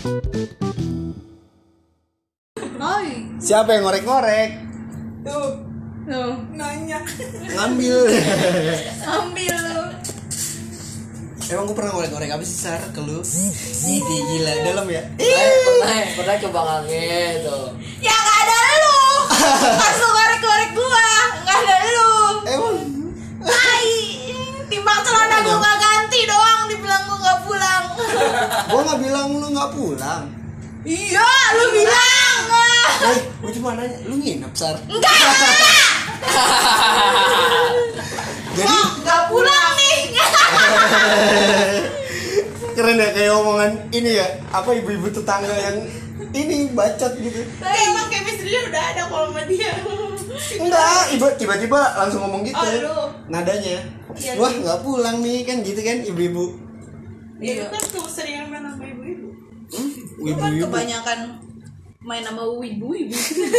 Oi. Siapa yang ngorek-ngorek? Tuh. Nanya. Ngambil. Ambil lu. Emang gue pernah ngorek-ngorek apa sih Sar ke lu? Ih gila dalam ya. Pernah coba ngange tuh. Ya nggak ada lu. Langsung ngorek-ngorek gua. Nggak ada lu. Emang Hai. Timbang celana gua nggak ganti doang. Dibilang gua nggak pulang. gue nggak bilang lu nggak pulang. Iya, lu bilang. Gue cuma nanya, lu nginep Sar? Enggak. Jadi Nggak pulang nih. keren ya kayak omongan ini ya, apa ibu-ibu tetangga yang ini bacot gitu. Tapi emang chemistry-nya udah ada kalau sama dia. Enggak, ibu tiba-tiba langsung ngomong gitu. Oh, lu. Nadanya. Iya, Wah, nggak pulang nih kan gitu kan ibu-ibu. Iya, kan keseringan main sama ibu-ibu. Lu kan Ibu-ibu. kebanyakan main sama ibu-ibu.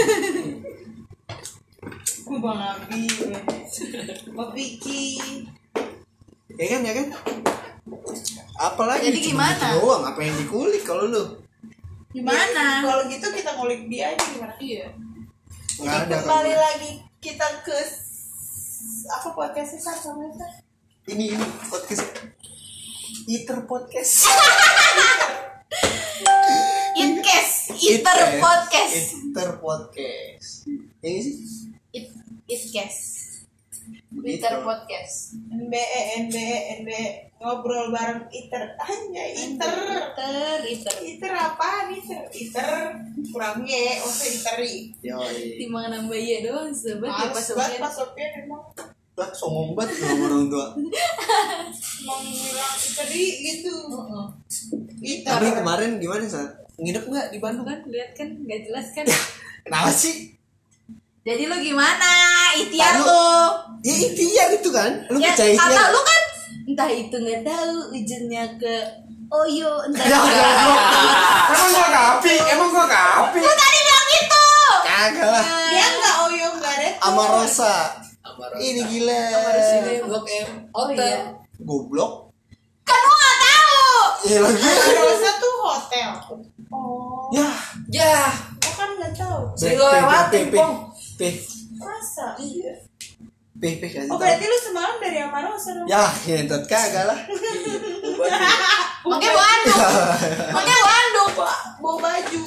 Gue Bang Abi, Bang Vicky. Ya kan? Apalagi Jadi cuma gimana? gitu doang, apa yang dikulik kalau lu? Gimana? Kalau gitu kita ngulik dia aja gimana? Iya. Nggak ada Kembali kan. lagi kita ke apa podcastnya Sar sama Sar? Ini podcast Iter podcast. Iter podcast. Iter podcast. Yang sih? Itkes. Iter podcast. NBE ngobrol bareng Iter. Anjay, Iter. Iter apaan Iter? Iter kurang ye, usah Iteri. Yoi. Timbang nambah iya doang sobat ya pas Males banget Pak Sofian emang Lah, sombong banget sama orang tua. mau bilang Iteri gitu. Iter. Tapi kemarin gimana Sar? Nginep nggak di Bandung? kan lihat kan nggak jelas kan. Kenapa sih? Jadi lu gimana? Ikhtiar Lalu- tuh. Ya ikhtiar itu kan. Lu Ya, percaya kata ikhtiar? lu kan entah itu nggak tahu ujungnya ke Oyo entah. Ya, Emang gua kapi. Lu tadi bilang gitu. Kagak lah. Dia enggak Oyo enggak ada. Amarosa. Amarosa. Ini gila. Sini Blok M hotel. Goblok. Kan lu nggak tahu. Iya lagi. Rosa tuh hotel. Oh, Ya. Ya, gua kan nggak tahu. sering lo lewatin, Pong. Masa? Iya. Kasih Oh tahu. berarti lu semalam dari Amarosa dong? Ya, ngentot kagak lah. Pakai bandung. Pakai bandung. Bawa baju.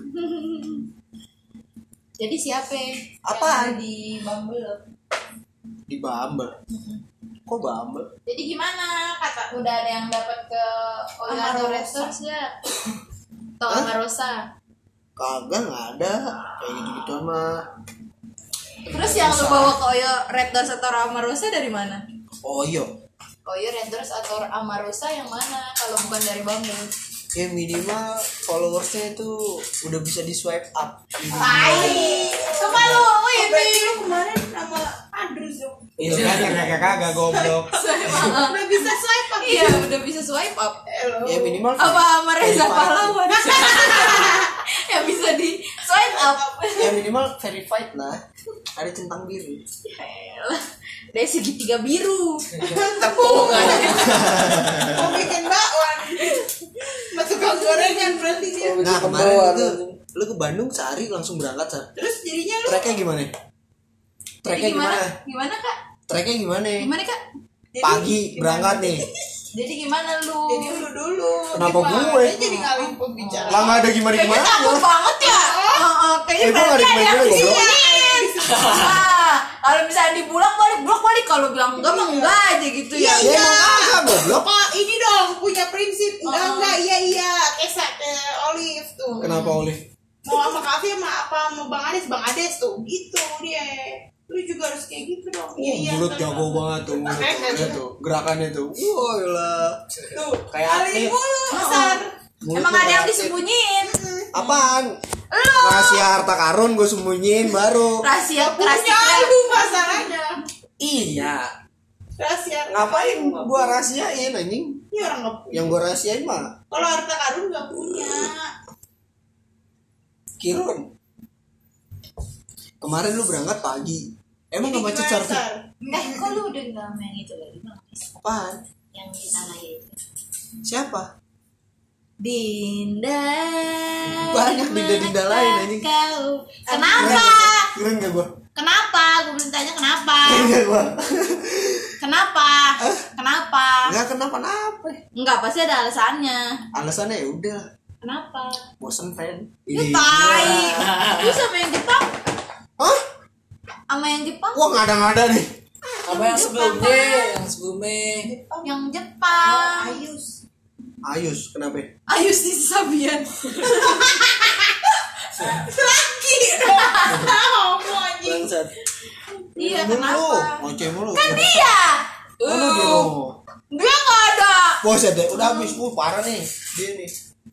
Jadi siapa? Apaan? Yang di Bumble. Di Bumble. Kok Bumble? Jadi gimana? Kata udah ada yang dapat ke Oyo atau Amarosa. Resorts ya? Atau Hah? Amarosa? Kagak, nggak ada. Kayak gitu-gituan mah. Terus yang lu bawa ke Oyo Red Doors atau Amarosa dari mana? Oh iya. Oyo Red Doors atau Amarosa yang mana? Kalau bukan dari Bumble. Ya minimal followersnya itu udah bisa di swipe up. Tai. Coba lu Berarti ini. lu kemarin sama Andrews dong. Iya kan kagak goblok. Udah bisa swipe up. Iya, udah bisa swipe up. Ya minimal Apa sama Reza verified. Pahlawan? Yang bisa di swipe up. Ya minimal verified lah. Ada centang biru. Yaelah. Dari segitiga biru. Tepung aja. Mau bikin bakwan. Masuk ke gorengan berarti dia. Nah Tepung kemarin doang. itu lu ke Bandung sehari langsung berangkat Sar. Terus jadinya lu Treknya gimana? Jadi Treknya gimana? gimana? Gimana Kak? Treknya gimana? Gimana Kak? Pagi berangkat nih. Jadi gimana lu? jadi lu dulu. Kenapa Gimana? gue? Dia jadi ngalih pembicaraan. Lah nggak ada gimana Kayaknya gimana. takut banget ya. Kayaknya Gua nggak berarti ada yang dikemana-mana, goblok. disembunyiin. Kalau misalnya dibulak balik kalau bilang enggak mah enggak aja gitu ya. Ya emang kagak goblok. Oh ini dong punya prinsip enggak iya kayak Olive tuh. Kenapa Olive? Mau sama Kavi sama apa sama Bang Ades tuh gitu dia. Lu juga harus kayak gitu dong. Iya Mulut jago banget tuh mulutnya tuh. Gerakannya tuh. Wah gila. Tuh Kayak kali atlet. mulu besar. Mulutnya Emang ada yang kayak atlet. disembunyiin. Apaan? Lu Rahasia harta karun gue sembunyiin baru. rahasia Punya rahasia. lu masalahnya. Iya. Rahasia. Ngapain gua rahasiain anjing? Ini orang nggak punya. Yang gua rahasiain mah Kalau harta karun nggak punya. Kirun. Kemarin lu berangkat pagi. Emang Jadi gak macet gimana, Sar? Sar? Kok lu udah enggak sama yang itu lagi Bang? Apaan? Yang di tanah itu. Siapa? Dinda. Banyak dinda-dinda lain, anjing. Kau. Kenapa? Keren gak gua? Kenapa? Gue belum tanya kenapa. Keren gak gua? Kenapa? Kenapa? Nggak kenapa-napa. Enggak, pasti ada alasannya. Alasannya ya udah, Kenapa? bosen friend. Ya tai. Lu sama yang Jepang? Hah? Sama yang Jepang? Wah ngada-ngada nih. Apa yang sebelumnya? Yang sebelumnya. Yang Jepang. Ayus. Ayus, kenapa? Ayus di Sabian. Lagi dong. Bangsat. Iya, Mulu, kenapa? ngoceh mulu. Kan dia. Mana dia lo? Dia nggak ada. Bos ya deh, udah habis. Parah nih. Dia nih.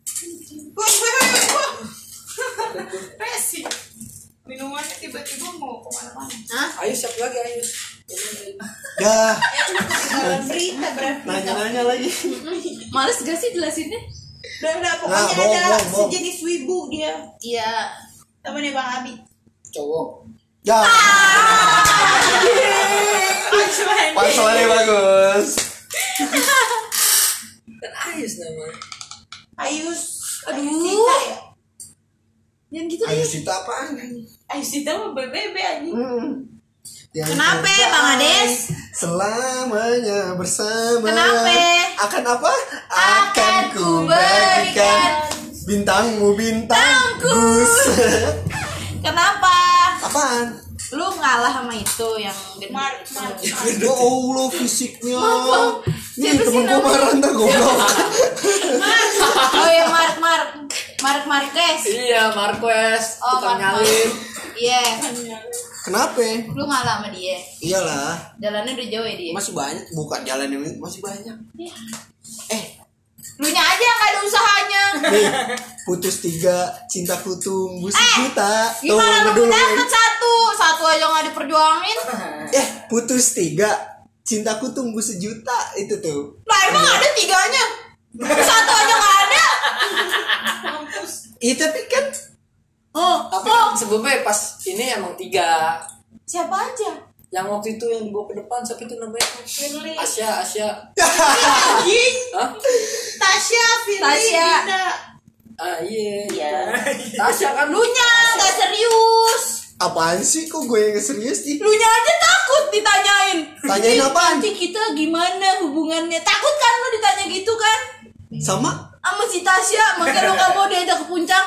Resi. Minumannya tiba-tiba mau kemana-mana. Hah? Ayo siapa lagi Ayo? Dah, Dalam berita berarti. nanya-nanya lagi. Males gak sih jelasinnya? Udah Nah, pokoknya bohong, ada bohong. sejenis wibu dia. Iya. Temennya Bang Abi. Cowok. Ya, Punchline. punchline bagus. Kan Ayus namanya. Ayus. Aduh. Ayus Sita ya? Yang gitu Ayus deh. itu apaan? Ayus Sita mah BBB anjing. Yang Kenapa, terbaik Bang Ades? Selamanya bersama. Kenapa? Akan apa? Akan ku berikan bintangmu bintang Bintangku. Gus. Kenapa? Apaan? Lu ngalah sama itu yang Mark. Ya Allah fisiknya. Nih Siapa sih temen gue namanya? marah ntar goblok. Oh ya Mark Marquez. Iya, Marquez. Oh, Tukang Mark nyalin. Iya. Kenapa? Lu ngalah sama dia. Iyalah. Jalannya udah jauh ya dia. Masih banyak. Bukan jalan yang masih banyak. Iya. Eh, Lu nya aja yang gak ada usahanya. nih putus 3, cintaku tumbuh sejuta. Gimana lu ngeduluin. dapet satu aja gak diperjuangin? Putus 3, cintaku tumbuh sejuta itu tuh. Lah emang ada tiganya? Satu aja gak ada. Iya tapi kan Tapi sebelumnya pas ini emang 3. Siapa aja? Yang waktu itu yang dibawa ke depan siapa itu namanya? Firly. Asya. Anjing. Hah? Tasya, Firly, Tasya. Dinda. Ah iya. Iya. Tasya kan Lu nya gak serius. apaan sih kok gue yang serius sih? Lu nya aja takut ditanyain. Tanyain "Ih, apaan? Nanti kita gimana hubungannya? Takut kan lu ditanya gitu kan? Sama? Sama si Tasya, makanya lu gak mau diajak ke puncak.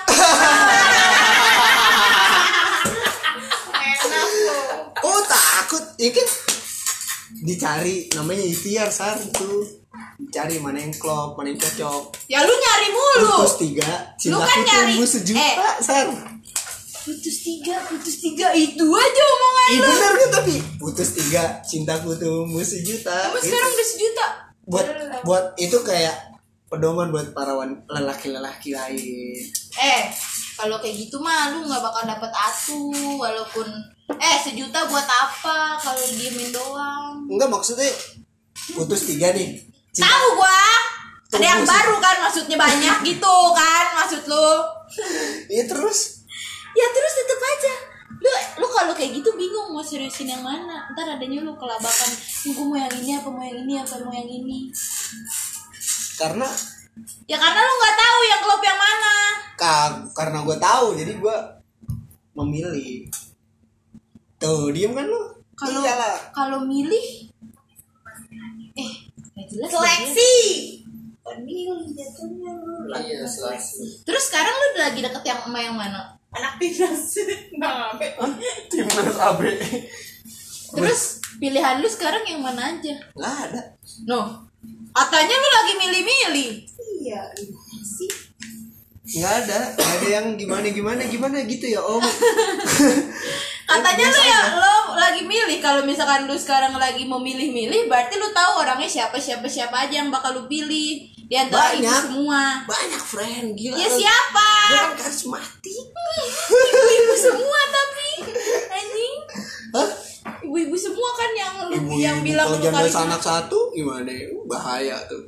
Enak loh. Oh takut, ya kan? Dicari namanya ikhtiar sar itu. Dicari mana yang klop, mana yang cocok. Ya lu nyari mulu. Putus 3, Lu cintaku kan nyari. tumbuh sejuta sar. Putus tiga itu aja omongan Iya lu. bener kan tapi putus 3, cintaku tumbuh sejuta. Kamu Gitu. sekarang udah sejuta. buat itu kayak pedoman buat para lelaki-lelaki lain. Kalau kayak gitu mah lu nggak bakal dapet atu walaupun sejuta buat apa kalau diemin doang. Enggak maksudnya putus 3 nih. Tahu gua. Ada yang Tunggu sih. baru kan maksudnya banyak gitu kan maksud lu. Iya terus Ya terus tetep aja. Lu kalau kayak gitu bingung mau seriusin yang mana. Ntar adanya lu kelabakan. Gue mau yang ini apa mau yang ini apa mau yang ini. karena Ya karena lu nggak tahu yang klub yang mana. karena gue tahu jadi gue memilih. Tuh diem kan lu? Kalau Iyalah. kalau milih nggak jelas Seleksi. Pemilih jatuhnya lu. Iya, seleksi. Terus sekarang lu lagi deket yang sama yang mana? Anak timnas. Bang Abe. Timnas AB. Terus pilihan lu sekarang yang mana aja? Nggak ada. No. Katanya lu lagi milih-milih. Iya, sih. Nggak ada yang gimana gitu ya om. Katanya lu Biasa ya aja. lo lagi milih. Kalau misalkan lu sekarang lagi mau milih-milih, berarti lu tahu orangnya siapa aja yang bakal lu pilih di antara itu Banyak. semua. Banyak friend gila. Ya siapa? Gue kan karismatik. Ibu-ibu semua tapi anjing. Hah? Ibu-ibu semua kan yang lu Ibu yang bilang kalau lu jangan karismatik. anak satu gimana? Bahaya tuh.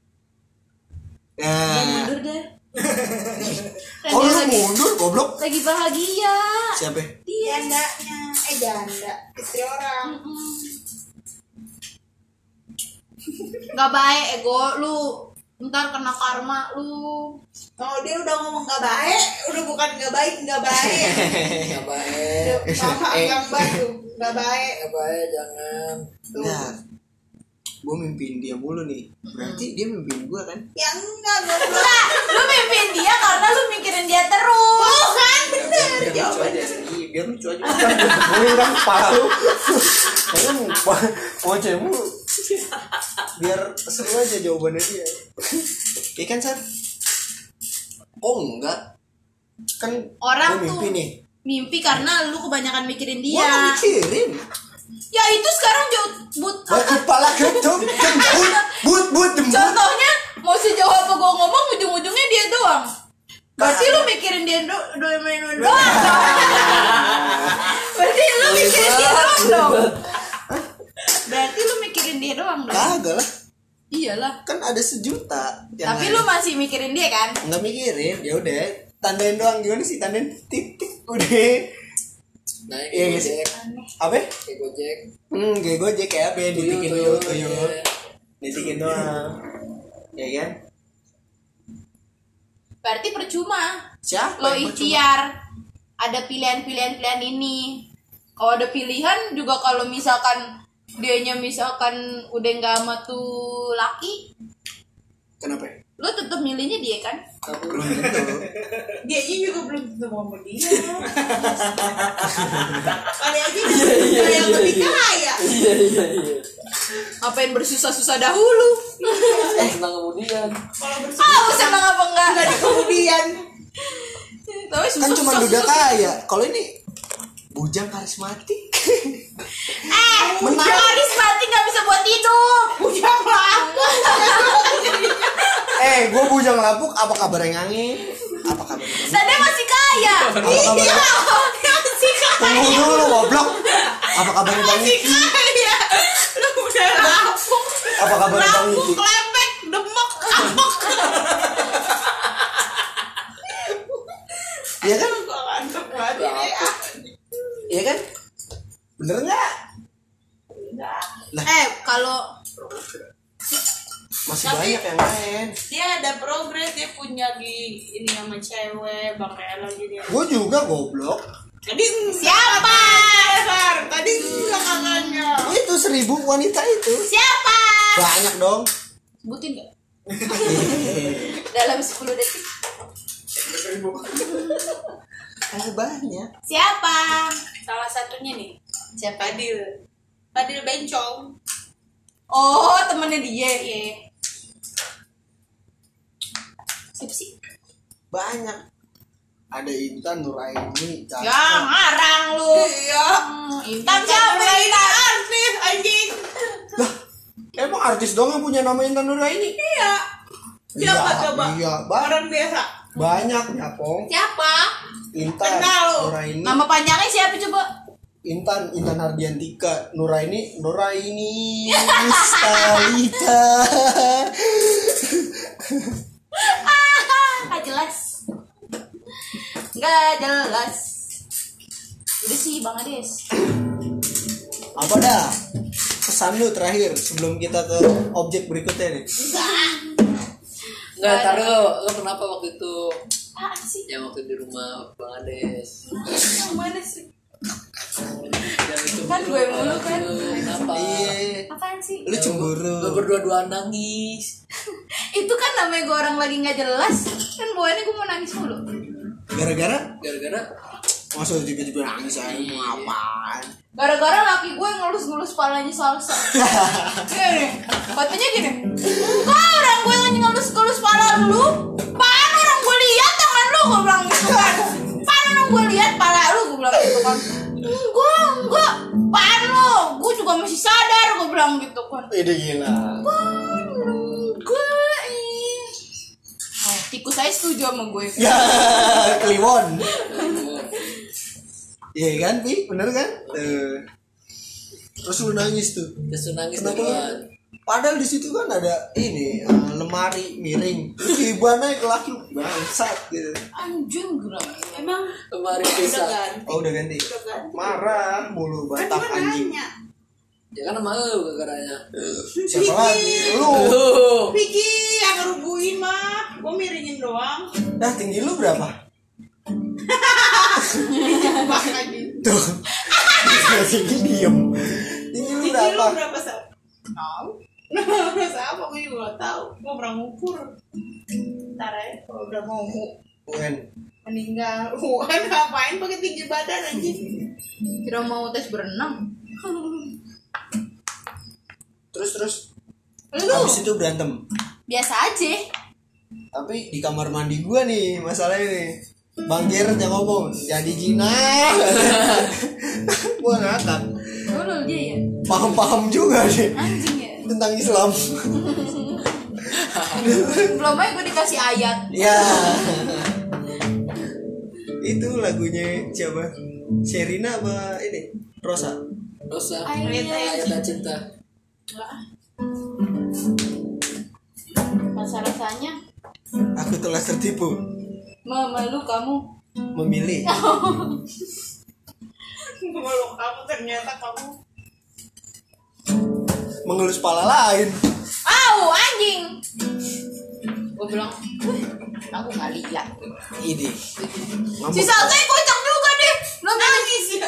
Jangan Ya. mundur deh. Oh lu mundur goblok. Lagi bahagia. Siapa? Dia. Jandanya. Janda. Istri orang. Gak baik ego lu ntar kena karma lu. Oh dia udah ngomong gak baik, udah bukan gak baik. Nggak baik. Sama yang baik, gak baik. Nggak baik, jangan. Nah, gue mimpiin dia mulu nih. Berarti dia mimpiin gue kan? Ya enggak, goblok. Enggak, lu mimpin dia karena lu mikirin dia terus. Oh kan bener Biar lucu jawabannya. aja sih, biar lucu aja. Gue kan kepala lu. Kayaknya mau cemu. Biar seru aja jawabannya dia. Iya kan, Sar? Oh enggak. Kan Orang gua tuh mimpi nih. mimpi karena lu kebanyakan mikirin Gua dia. nggak mikirin. Ya itu sekarang Kepala gedung jembut jembut. contohnya mau sejauh apa gua ngomong ujung-ujungnya dia doang. Berarti lu mikirin dia doang. Berarti lu mikirin dia doang dong. Berarti lu mikirin dia doang dong. Kagak lah. Iyalah. Kan ada 1 juta. Tapi lu masih mikirin dia kan? nggak mikirin, ya udah tandain doang. Gimana sih tandain titik udah. Naik Iya nggak sih? Apa? kayak Gojek. Kayak Gojek kayak apa? Ditikin tuyul. Iya. Ditikin doang. Ya kan? Berarti percuma. Siapa? Lo yang percuma? ikhtiar. Ada pilihan ini. Kalau ada pilihan juga kalau misalkan dianya misalkan udah nggak sama tuh laki, Kenapa? lo tetap milihnya dia kan? Belum tentu. Dianya juga belum tentu mau sama dia. Kali aja dia yang lebih kaya. Iya. Ngapain bersusah-susah dahulu? Senang kemudian. Kalau bersama Senang apa enggak? nggak di kemudian. Tapi Kan cuma duda kaya. Kalau ini bujang karismatik. karismatik nggak bisa buat hidup. Bujang lapuk. Gue bujang lapuk. Apa kabar yang angin? Apa kabar yang angin? Dan dia masih kaya. Apa kabar? Dia masih kaya. Tunggu dulu goblok. Apa kabar yang Masih angin? kaya. Lu udah lapuk. Apa kabar yang angin? Lapuk, lepek, demek, apek. Iya kan? Gua ngantuk banget ini. Iya kan? Bener nggak? Kalau Masih banyak yang lain. Dia ada progres, dia punya ini sama cewek, bangkai lagi dia. Gue juga goblok. Tadi siapa? Tadi enggak katanya. Itu 1000 wanita itu. Siapa? Banyak dong. Sebutin nggak? Dalam 10 detik. Banyak. Siapa? Salah satunya nih, Siapa? Fadil Bencong. Oh, temennya dia. Iya. Siapa sih? Banyak. Ada Intan Nuraini. Ya, ngarang lu. Iya. Intan siapa? Intan. Artis anjing. Lah, emang artis dong yang punya nama Intan Nuraini? Iya. Siapa coba? Iya, Orang biasa. banyak ya, Pong. Siapa? Intan Kenal lu. Nuraini. Nama panjangnya siapa coba? Intan Hardiantika, Nuraini Mustalita. Nggak jelas. Nggak jelas. Udah sih Bang Ades. Apa dah? Pesan lu terakhir sebelum kita ke objek berikutnya nih. Enggak, taruh. Lo kenapa waktu itu? Apaan sih? Yang waktu di rumah Bang Ades. Yang mana sih? Yang itu Kan gue mulu kan. Kenapa? Iya. Apaan sih? Lu cemburu. Lo berdua-duaan nangis. Itu kan namanya gue orang lagi nggak jelas. Kan bawaannya gue mau nangis mulu. Gara-gara Gara-gara masuk tiba-tiba nangis aja mau apaan? Gara-gara laki gue ngelus-ngelus palanya salsa. Gini, katanya gini. Enggak, orang gue lagi ngelus-ngelus pala lu. Pan orang gue lihat tangan lu, gue bilang gitu kan. Pan orang gue lihat pala lu, gue bilang gitu kan. Enggak. Pan lu, gue juga masih sadar, gue bilang gitu kan. Ide gila. Pan lu, gue tikus saya setuju sama gue. Ya, Kliwon. Iya kan, Pi? Bener kan? Terus lu nangis tuh. terus nangis Kenapa? duluan. Padahal di situ kan ada ini lemari miring. Terus gimana ke laki bangsat gitu. Anjing geram. Emang Kemarin udah pisah. ganti. Oh udah ganti. Udah ganti. Marah mulu Kan Batak gue anjing. nanya. Ya kan sama lu gara-garanya. Siapa lagi? Lu. Vicky yang ngerubuin mah, gue miringin doang. Dah tinggi lu berapa? Jebak aja. Tuh. Tinggi diem. Tinggi lu Tinggi lu berapa? berapa Sal? Tahu? Berapa? Gue juga gak tahu. Gue pernah ngukur. Ntar ya, kalau udah mau UN. meninggal, ngapain pakai tinggi badan aja? Kira mau tes berenang. Terus. Lu Habis itu berantem. biasa aja. Tapi di kamar mandi gua nih masalahnya nih. Bang Gerard yang ngomong jadi Cina. Gua ngakak. Lu aja ya. Paham juga deh Anjing ya. tentang Islam. Belum aja gue dikasih ayat. Ya. Itu lagunya siapa? Sherina apa ini? Rosa. Ayat cinta. Masa rasanya Aku telah tertipu memalu kamu. memilih. Malu kamu, ternyata kamu Mengelus pala lain. Au anjing. Gue bilang, aku gak lihat. Ini. Si Salsa kocak juga deh. Nangis ya.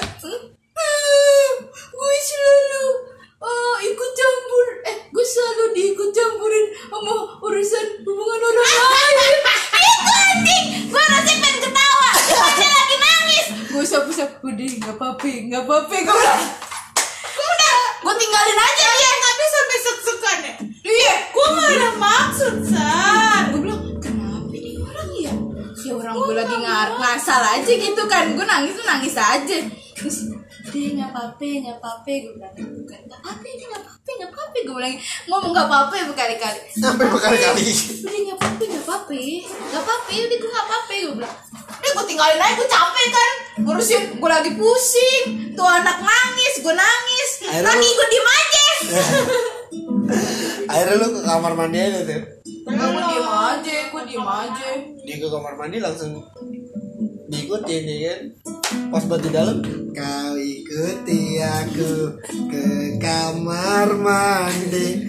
Gue selalu ikut campur. Gue selalu diikut campurin sama urusan hubungan orang lain. Itu anjing. Gue rasanya pengen ketawa. Dia lagi nangis. Gue usap-usap. Udah gak apa-apa. Gue bilang. Gue tinggalin aja dia. tapi sampai sek-sekan ya. Iya. Gue gak ada maksud San. Gue bilang kenapa nih orang ya? Ya orang gue lagi ngasal aja gitu kan. Gue nangis aja. Terus deh nggak apa-apa gue bilang bukan nggak apa-apa gue bilang ngomong nggak apa-apa berkali-kali Sampai berkali-kali. udah nggak apa-apa udah gue nggak apa-apa gue bilang udah gue tinggalin aja gue capek kan ngurusin gue lagi pusing tuh anak nangis gue nangis Akhirnya lagi lu- gue diem aja Akhirnya lu ke kamar mandi aja tuh. gue diem aja Dia ke kamar mandi langsung diikutin ya kan. Pas buat di dalam kau ikuti aku ke kamar mandi.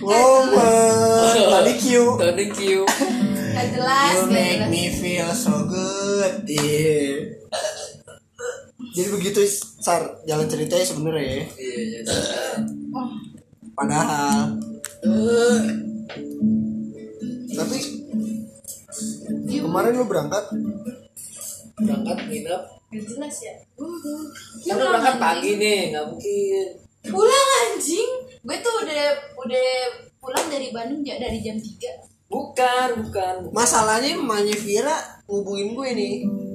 Tadi Q. nggak jelas You nggak make jelas. me feel so good. Yeah. Jadi begitu Sar jalan ceritanya sebenarnya ya. Iya. Oh, Padahal tapi kemarin lu berangkat Berangkat nginep. nggak jelas ya Kan lu berangkat pagi nih, nggak mungkin. pulang anjing gue tuh udah pulang dari Bandung dari jam 3. Bukan. masalahnya emaknya Vira ngubungin gue nih.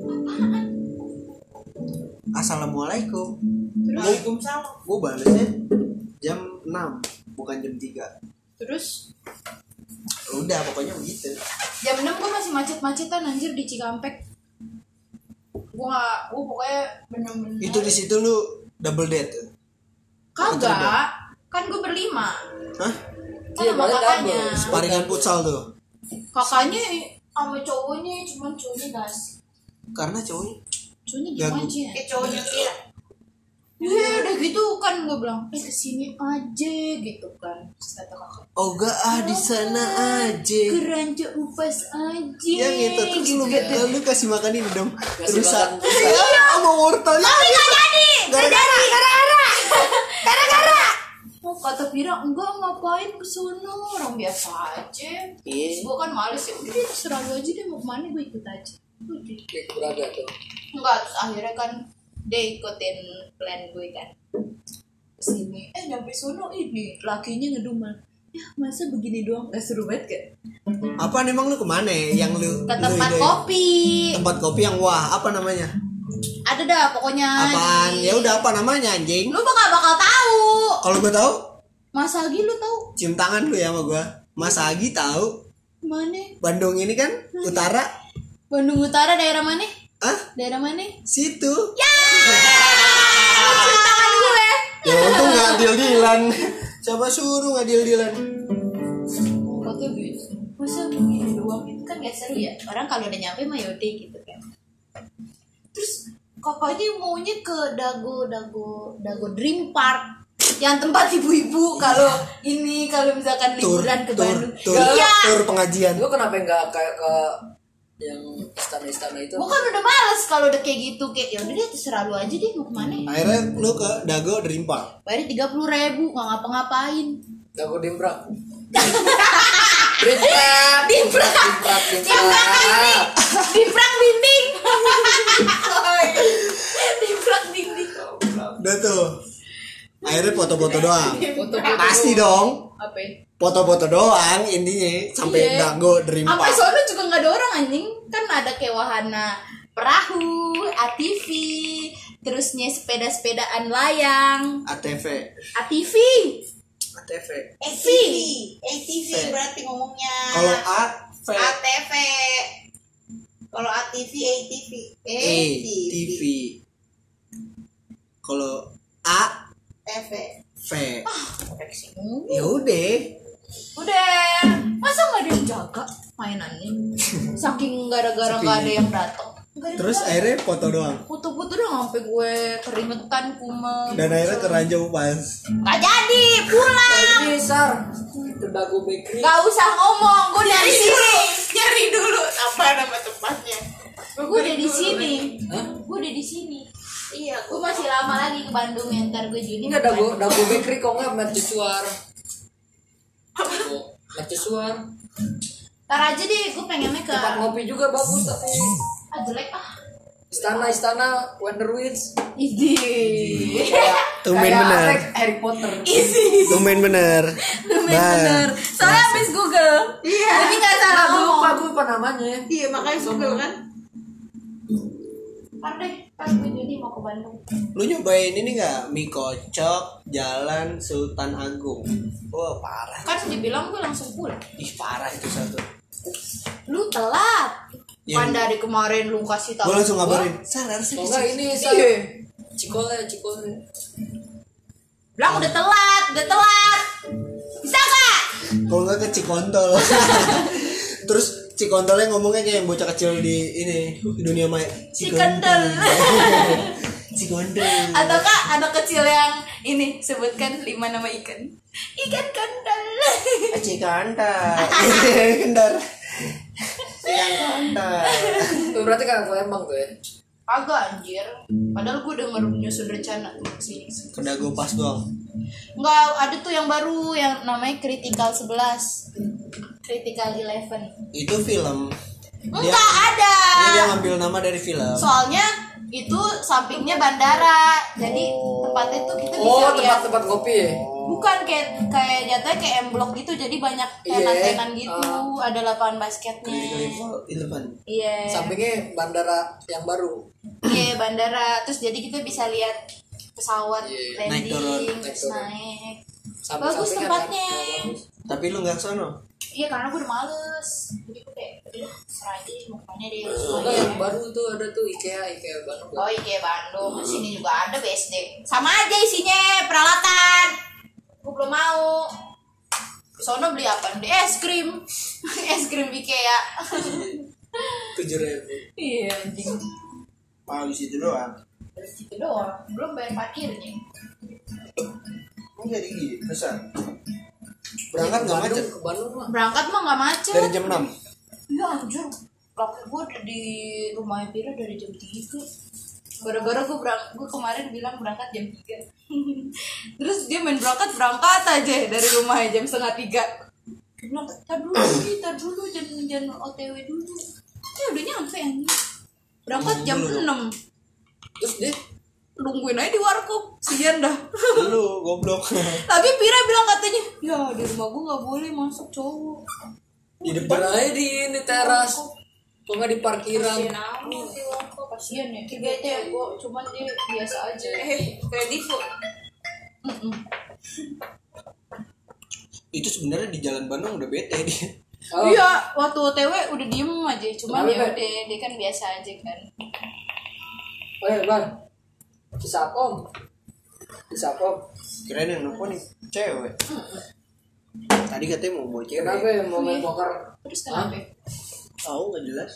Assalamualaikum. Waalaikumsalam. Gue balesnya jam 6 bukan jam 3. Terus Udah pokoknya begitu. jam 6 gue masih macet-macetan anjir di Cikampek. Gue pokoknya bener-bener Itu di situ lu double date. kagak kan gue berlima Hah? kan Iya, sama balik kakaknya double. Sparingan futsal tuh. kakaknya sama cowoknya cuman cowoknya gas Karena cowoknya diem Gagu. aja Kayak cowoknya Vira. ya udah gitu kan gue bilang kesini aja gitu kan terus kata kakak Oga di sana aja. keranjang upas aja Ya gitu terus lu kasih makan ini dong. Kasih Terus makan iya sama wortel. tapi gak jadi gara-gara oh kata Pira enggak ngapain kesono orang biasa aja terus gue kan males ya udah deh terserah lu aja deh mau kemana gue ikut aja udah Kayak Braga tuh. enggak terus akhirnya kan dia ikutin plan gue kan kesini nyampe sono ini lakinya ngedumel ya masa begini doang gak seru banget kan Apaan emang lu kemana? Yang lu ke lu tempat idein? kopi Tempat kopi yang wah, apa namanya? ada dah pokoknya Apaan? di- Ya udah apa namanya anjing? lu bakal tahu Kalau gue tahu, Mas Agi lu tahu cium tangan lu ya sama gue. Mas Agi tahu. mana Bandung ini kan utara. Bandung Utara daerah mana Ah, daerah mana situ. ya cium tangan gue Ya untung nggak deal-dealan. Coba suruh nggak deal-dealan. foto gitu masa begini doang itu kan gak seru ya orang kalau udah nyampe mah yaudah gitu kan terus kakaknya maunya ke Dago Dream Park yang tempat ibu-ibu kalau misalkan liburan ke Bandung. Iya. Tur pengajian. Lu kenapa enggak kayak ke yang istana-istana itu? Gua kan udah males kalau udah kayak gitu, kayak ya udah deh terserah lu aja deh mau kemana. Akhirnya lu ke Dago Dream Park. Bayar 30.000 nggak ngapa-ngapain. Dago Dimprak. Dimprak dinding. Dimprak dinding. Udah tuh. Akhirnya foto-foto doang. Foto-foto Pasti dong. Apa ya? Foto-foto doang intinya sampai Iya. Dago Dream Sampai Park. sono juga nggak ada orang anjing, kan ada kayak wahana perahu, ATV, terusnya sepeda-sepedaan layang, ATV. ATV. ATV berarti ngomongnya. Kalau AV ATV. Kalau ATV ATV. ATV. Kalau A ATV. V. Ya Ya udah. udah, masa nggak ada yang jaga mainannya? Saking gara-gara nggak ada yang datang. Terus akhirnya foto doang. Foto-foto dong sampai gue keringetan kume. Dan akhirnya ke Ranjau Pas. Nggak jadi pulang. Ini Sar. Ke Dago Bakery. Gak usah ngomong, gue dari sini. Nyari dulu apa nama tempatnya. Gue udah di sini. Hah? Gue udah di sini. Iya, Gue masih lama lagi ke Bandung ya, ntar gue Juni. Enggak ke Bandung. Dago Bakery kok enggak mercusuar. Mercusuar. Ntar aja deh, gue pengennya ke Tempat ngopi juga bagus tapi jelek ah. istana Wonderwinds. Idi. Tumben Kayak bener. Harry Potter. Tumben bener. Bener. Soalnya habis Google. Iya. Jadi nggak salah Gue lupa ngomong. gue lupa namanya. Iya, makanya Google kan. Ntar deh, pas gue Juni mau ke Bandung. Lu nyobain ini nggak mie kocok Jalan Sultan Agung? Wah parah. Kan dibilang gue langsung pulang. Ih parah itu satu. Lu telat. Iya. Kan dari kemarin lu kasih tahu. Gue langsung gua. ngabarin. Sar harusnya Oh di enggak sini. ini Sar. Iya. Cikole. Bilang udah telat. Bisa gak? Kalau nggak ke Cikontol. Terus Cikontolnya ngomongnya kayak yang bocah kecil di ini dunia maya. Cikondol. Cikondol. Ataukah anak kecil yang ini sebutkan 5 nama ikan. Ikan kondol. Cikandar. Kendar. Cikandar. Itu berarti kan Palembang tuh ya. Agak anjir. Padahal gue udah nyusun rencana tuh kesini. Ke Dago Pas doang. Enggak, ada tuh yang baru yang namanya Critical 11. Critical 11. Itu film. Enggak ada. Dia ngambil nama dari film. Soalnya itu sampingnya bandara. Jadi tempatnya tuh kita bisa Oh, lihat. tempat jatuh ya. Bukan kayak jatuhnya kayak M Block gitu, jadi banyak Iya. tenan-tenan gitu, ada lapangan basketnya. Level 11. Iya. Sampingnya bandara yang baru. Iya, bandara. Terus jadi kita bisa lihat pesawat Iya. Naik turun, landing, naik terus turun. naik. Samping-sampingnya Bagus tempatnya. bagus. Tapi lu nggak sono. Iya, karena gue udah males. Jadi gue kayak udah serah aja mau kemana deh. Enggak yang baru tuh ada tuh IKEA Bandung. Oh iya Bandung, sini juga ada BSD. Sama aja isinya peralatan. Gue belum mau. Sono beli apa? Beli es krim. Es krim IKEA. 7.000. Iya anjing. Mau di situ doang. Itu doang. Belum bayar parkirnya. Ini jadi gini, besar. Berangkat nggak macet. Ke Bandung mah. Berangkat mah nggak macet. Dari jam 6. Iya anjir. Laki gue udah di rumahnya Pira dari jam 3. Gara-gara gue kemarin bilang berangkat jam 3. Terus dia main berangkat aja dari rumahnya jam 2:30. Dia bilang, tar dulu, jangan OTW dulu. Ya udah nyampe anjing. Berangkat jam 6. Terus dia Nungguin aja di warkop. Sian dah. Lu goblok. Tapi Pira bilang katanya, ya di rumah gue gak boleh masuk cowok. Di depan depan aja di ini teras. Kok nggak di parkiran? Kasian amat di warkop. Kasian ya. Kayaknya gue cuman dia biasa aja. Kayak Divo. itu sebenarnya di Jalan Bandung udah bete dia. Oh. Iya, waktu OTW udah diem aja. Cuman Kenapa, ya Bang? udah, dia kan biasa aja kan. Bang. Kisapom. Kirain yang nelfon nih cewek. Tadi katanya mau bawa cewek. Kenapa ya mau main poker? Terus kenapa? Tahu nggak jelas.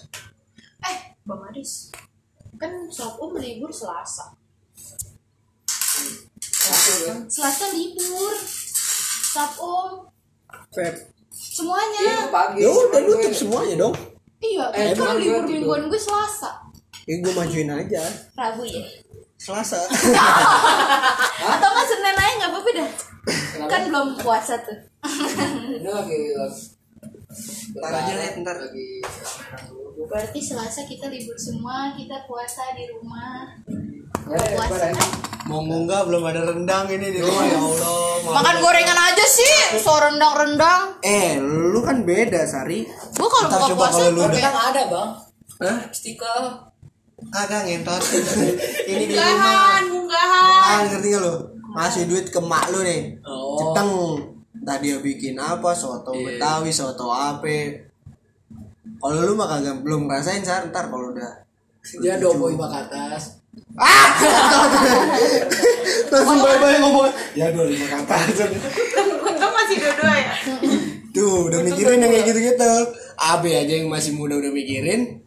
Bang Adis, kan Sokom libur Selasa. Selasa libur. Sab Om. Feb. Semuanya. Pagi. Ya udah nutup semuanya dong. Iya, emang kan libur gue mingguan gue Selasa. Ya gue majuin aja. Rabu ya. Selasa. Atau nggak Senin aja nggak apa-apa dah. Kan belum puasa tuh. Ini lagi Ntar aja lihat ntar. lagi. Berarti Selasa kita libur semua, kita puasa di rumah. Eh, Puasa. Mau enggak belum ada rendang ini di rumah ya Allah. Makan gorengan aja sih, so rendang-rendang. Lu kan beda Sari. Gua kalau Ntar buka coba puasa kalau lu Tapi udah. kan ada bang. Hah? Stiker. Kagak ngentot. Ini di Munggahan, rumah. munggahan. Ngerti gak lu? Ngasih duit ke mak lu nih. Oh. Ceteng. Tadi dia bikin apa? Soto Betawi, soto ape. Kalau lu mah kagak belum ngerasain Sar, ntar kalau udah. Dia doboi ke atas. Langsung bye-bye ngomong. Ya 25 ke atas. Untung masih dua-dua ya. Tuh, udah mikirin yang kayak gitu-gitu. Abe aja yang masih muda udah mikirin.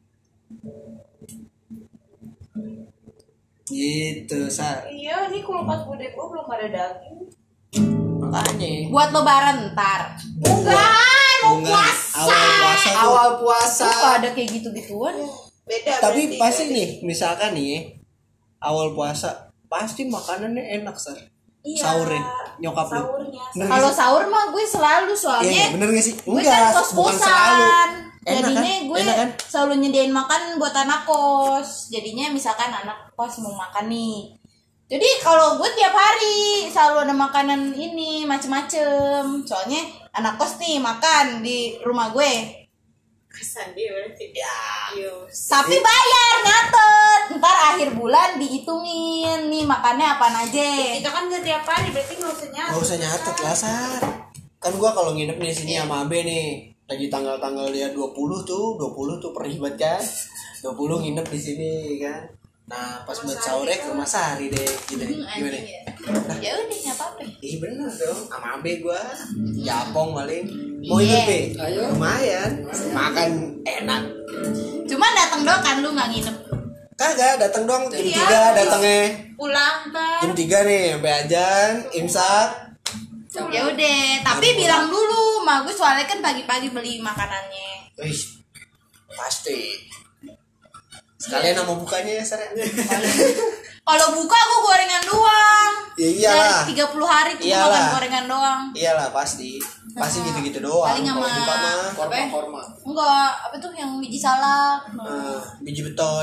Gitu, Sar. Iya, ini kalau pas bude gue belum ada daging. Makanya. buat lebaran ntar. Munggahan, mau Enggak, puasa. awal puasa tuh. Awal puasa. Kok ada kayak gitu-gituan? Beda. Tapi berarti. pasti nih, misalkan nih, awal puasa pasti makanannya enak, Sar. Iya. Sahurnya, nyokap lu. Sahurnya. Bener Kalau gak sih? sahur mah gue selalu Iya, soalnya bener gak sih? gue kan bukan kos-kosan. selalu. Enak Jadinya kan? gue Enak kan? selalu nyediain makan buat anak kos. Jadinya misalkan anak kos mau makan nih. Jadi kalau gue tiap hari selalu ada makanan ini macem-macem. Soalnya anak kos nih makan di rumah gue. Kesan dia berarti. Ya. Iya. Tapi bayar nyatet. Ntar akhir bulan dihitungin nih makannya apaan aja. Kita kan nggak tiap hari, berarti nggak usah nyatet. Gak usah nyatet lah, Sar. Kan gua kalau nginep di sini sama Abe nih, lagi tanggal-tanggal dia 20 tuh perih banget kan. 20 nginep di sini kan. Nah, pas buat sahurnya ke rumah Sari deh, gitu. Gimana? Ya udah nggak apa-apa. Ih bener dong, sama Abe gua. Japong paling. Mau ikut, Iya. Be? Ayo. Lumayan. Makan enak. Cuman datang doang kan lu nggak nginep. Kagak, datang doang jam Iya. 3 datangnya. Pulang ntar. Jam 3 nih, sampai ajan, imsak. Ya udah, tapi bilang dulu, mah gue soalnya kan pagi-pagi beli makanannya. Wih, pasti. Sekalian sama bukanya ya, Sar. Kalau buka gue gorengan doang. Ya iyalah. Dari 30 hari tuh Iyalah. makan gorengan doang. Iyalah pasti. Pasti gitu-gitu doang. Paling Kalau sama buka mah apa ya? Korma. Enggak, apa tuh yang biji salak. biji beton.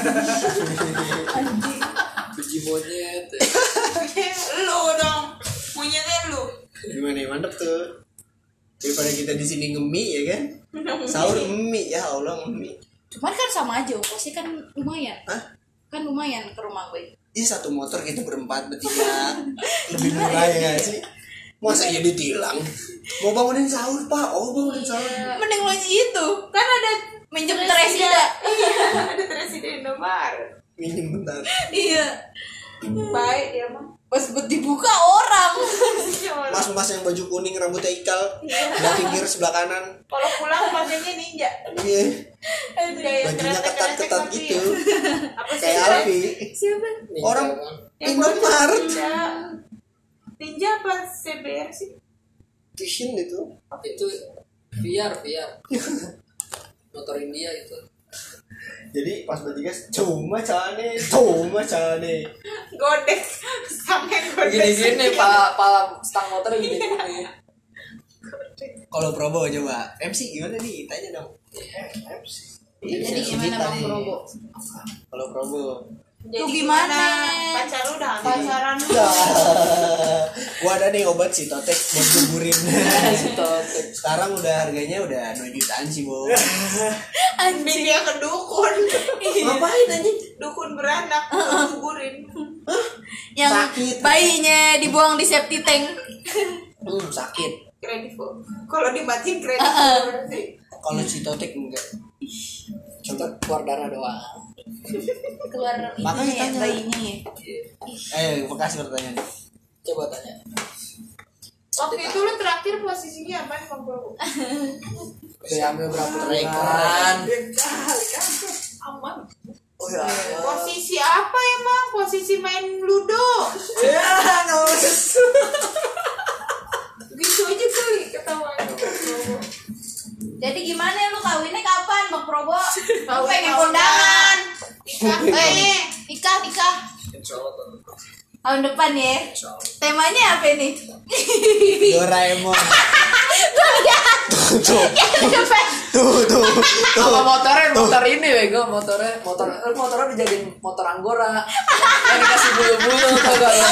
Biji monyet. Lu dong. Monyetnya lu. Gimana ya, mantep tuh. Daripada kita di sini ngemi ya kan. Sahur mie ya Allah mie. Cuman kan sama aja, ongkosnya kan lumayan. Hah? Kan lumayan ke rumah gue. Ini satu motor kita berempat bertiga. Lebih murah ya nggak sih? Masa iya ditilang? Mau bangunin sahur pak? Oh bangunin sahur. Mending lo itu, kan ada minjem Tresida. Iya, ada presiden Indomaret. Minim bentar. Iya. Baik dia mah. Pas buat dibuka orang. Mas-mas yang baju kuning rambutnya ikal. Sebelah pinggir sebelah kanan. Kalau pulang bajunya ninja. Iya. Kayak Bajunya ketat-ketat tapi gitu. Apa sih? Kayak Alfi. Siapa? Orang Yang Indomaret. ninja. Ninja apa CBR sih? Vision itu. Itu VR. Motor India itu. Jadi pas bertigas cuma cane. Godek. Sampai godek. Gini-gini pala stang motor gini. Kalau Probo coba MC gimana nih? Tanya dong. Jadi gimana Bang Probo? Kalau Probo. Jadi Lu gimana? Pacar lu udah hamil? Pacaran lu. Gua ada nih obat Sitotek buat gugurin. Sitotek. Sekarang udah harganya udah 2 jutaan sih, Bo. Anjing dia ke dukun. Ngapain anjing? Dukun beranak gugurin. Yang Sakit. bayinya dibuang di septic tank. Sakit. Kredit kok. Kalau dimatiin kredit berarti. Kalau Sitotek enggak. Coba keluar darah doang. Keluar Makanya ini ya, tanya. bayinya ya. Makasih pertanyaan. Coba tanya. Waktu itu lu terakhir posisinya apa Bang Bro? Udah ambil berapa Rekan. Aman. Oh ya. Posisi apa emang? Posisi main ludo. undangan. Nikah. Nikah. Tahun depan ya. Temanya apa nih? Doraemon. Tuh lihat. Tuh. Sama motor ini bego, motornya dijadiin motor Anggora. Yang dikasih bulu-bulu tau gak lo?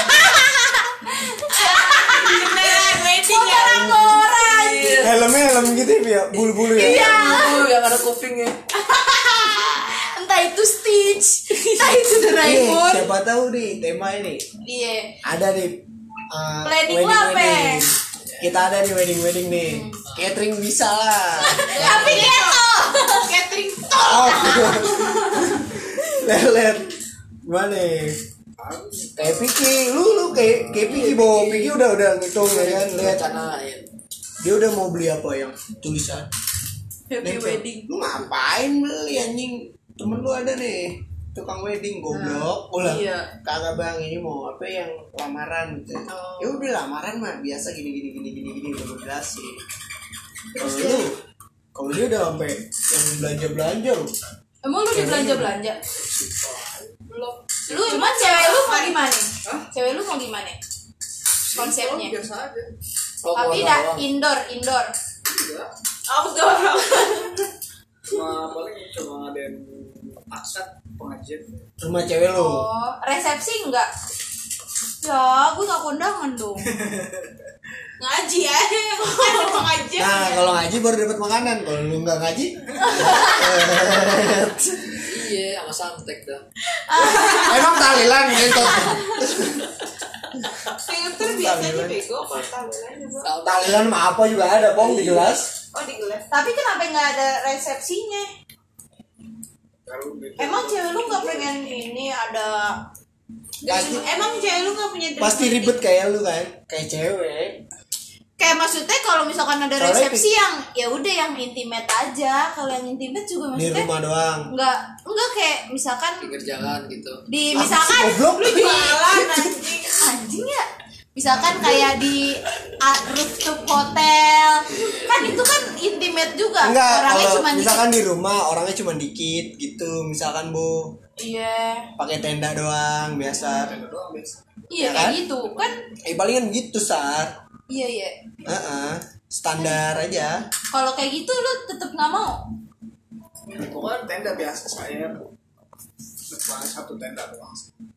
Beneran wedding ya. Motor Anggora. Helm gitu ya, bulu-bulu ya. Iya. Bulu yang ada kupingnya. Entah itu Stitch, entah itu Doraemon. Siapa tahu nih tema ini. Iya. Ada nih Planning lo apa? Kita ada nih wedding nih. Catering bisa lah. Tapi keto. Catering Oh. Lelet. Gimana nih? Kayak Piki, lu kayak Piki bawa Piki udah ngitung ya kan, lihat Canain. dia udah mau beli apa yang tulisan Happy nempel. wedding. Lu ngapain beli anjing? Temen lu ada nih tukang wedding goblok. Ulah. Iya. Kagak bang, ini mau apa yang lamaran gitu. Oh. Ya udah lamaran mah biasa gini udah gue jelasin. Kalau dia udah sampai yang belanja lu. Emang lu dibelanja? Belum. Lu emang cewek lu mau gimana? Cewek lu mau gimana? Konsepnya. Biasa aja. Tapi dah indoor. outdoor. Paling cuma ada yang akad pengajian. Rumah cewek lu. Oh, resepsi enggak? Ya, gue gak kondangan dong. Ngaji aja. Ada pengajian. Nah, kalau ngaji baru dapat makanan. Kalau lu nggak ngaji, Iya, sama santek dah. emang tahlilan gitu. Filter biasanya bego kalau tahlilan juga. Tahlilan mah apa juga ada, Pong, di gelas. Oh di gelas. Tapi kenapa nggak ada resepsinya? Emang cewek lu nggak pengen ini ada? Pasti Emang cewek lu gak punya pasti ribet kayak lu kan, kayak cewek. Kayak maksudnya kalau misalkan ada Soalnya resepsi yang ya udah yang intimate aja. Kalau yang intimate juga Di maksudnya rumah doang. enggak kayak misalkan Pinggir jalan gitu. di Apa sih, misalkan goblok? lu jualan anjing. anjing ya. Misalkan kayak di rooftop hotel. Kan itu kan intimate juga. Enggak, Orangnya kalau cuma misalkan di rumah orangnya cuma dikit gitu, misalkan Bu, iya. pakai tenda doang biasa. Iya Ya kayak kan? gitu kan. Palingan gitu, Sar. Iya. Standar aja. Kalau kayak gitu lu tetap nggak mau. Pokoknya tenda biasa saya cuma satu tenda doang.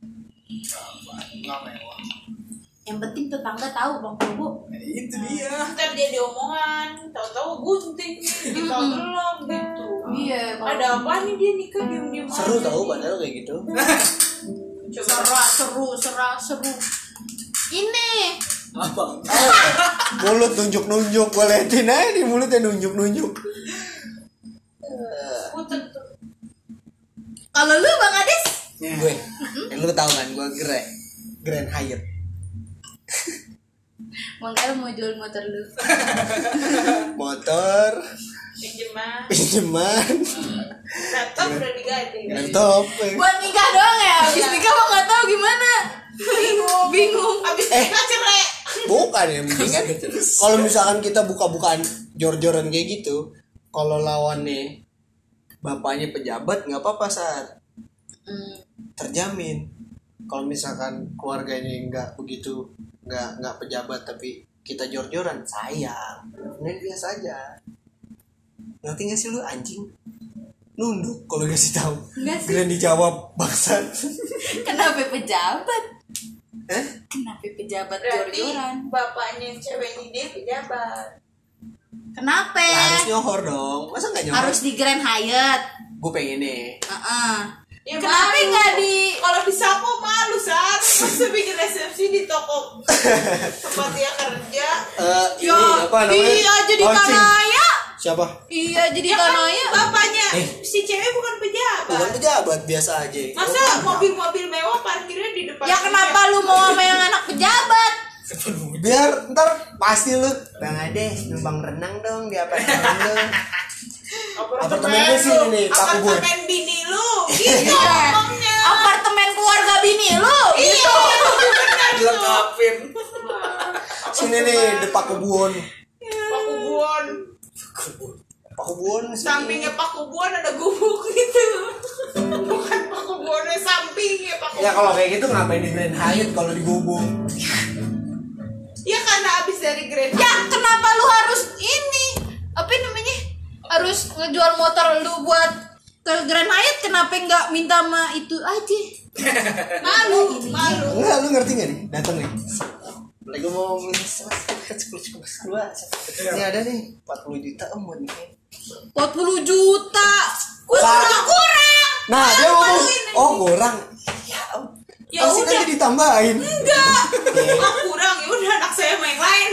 Nggak mewah. Yang penting tetangga tahu Bang Bu. Itu dia. Ntar dia diomongan, tahu-tahu gunting, tahu belum gitu. Iya. Ada apa nih dia nikah diem-diem Seru aja. tahu padahal kayak gitu. Seru. Ini Apa? Mulut nunjuk-nunjuk, gue liatin aja di mulutnya nunjuk-nunjuk. Putet tuh. kalau lu Bang Ades Gue, lu tahu kan gue Grand Hyatt. Bang El mau jual motor lu. Motor, Pinjeman. pinjaman, Laptop udah diganti. laptop. Buat nikah doang ya. Habis nikah mah nggak tahu gimana. Bingung. Abis nikah cerai. Bukan ya, mending kan kalau misalkan kita buka-bukaan jor-joran kayak gitu, kalau lawannya bapaknya pejabat nggak apa-apa, Sar. Terjamin. Kalau misalkan keluarganya nggak begitu, nggak pejabat tapi kita jor-joran, sayang. Ini biasa aja. Ngerti nggak sih lu anjing? Nunduk kalau kasih tahu. Nggak sih. Kalian dijawab bangsat. Kenapa pejabat? Eh? Kenapa pejabat Berarti jor-joran? bapaknya yang cewek ini dia pejabat. Kenapa? Harus nyohor dong. Masa nggak nyohor? Harus di Grand Hyatt. Gue pengen nih. Ya, Kenapa malu. nggak di? Kalau di Sapo malu, Sar. Masa bikin resepsi di toko tempat dia kerja. Ini apa namanya? Iya jadi Launching. kanaya. Siapa? Iya jadi Ya kan kanaya. bapaknya si cewek bukan pejabat. Bukan pejabat, biasa aja. Masa mobil-mobil mewah parkirnya di depan? Ya kenapa lu mau sama yang anak pejabat? Biar ntar pasti lu Bang Ades numpang renang dong di apartemen lu. Apartemen lu sih ini, Pak Kubur. Apartemen bini lu. Gitu ngomongnya. Apartemen keluarga bini lu. Iya. Benar tuh. Dilengkapin. Sini nih di Pak Kubun. Pak Kubon. Pak Kubun sini. Sampingnya Pak Kubon ada gubuk gitu. Ya kalau kayak gitu ngapain di Grand Hyatt kalau di Gobong? Ya karena abis dari Grand Ya kenapa lu harus ini apa namanya harus ngejual motor lu buat ke Grand Hyatt? Kenapa nggak minta sama itu aja? malu. Enggak, lu ngerti nggak nih? Datang nih. Lagi mau ini ada nih 40 juta om buat nih. 40 juta. Gue Pak. kurang. Nah dia ngomong, oh kurang. Ya om. Ya Pasti udah. kan ditambahin. Enggak. Oh kurang ya udah anak saya main lain.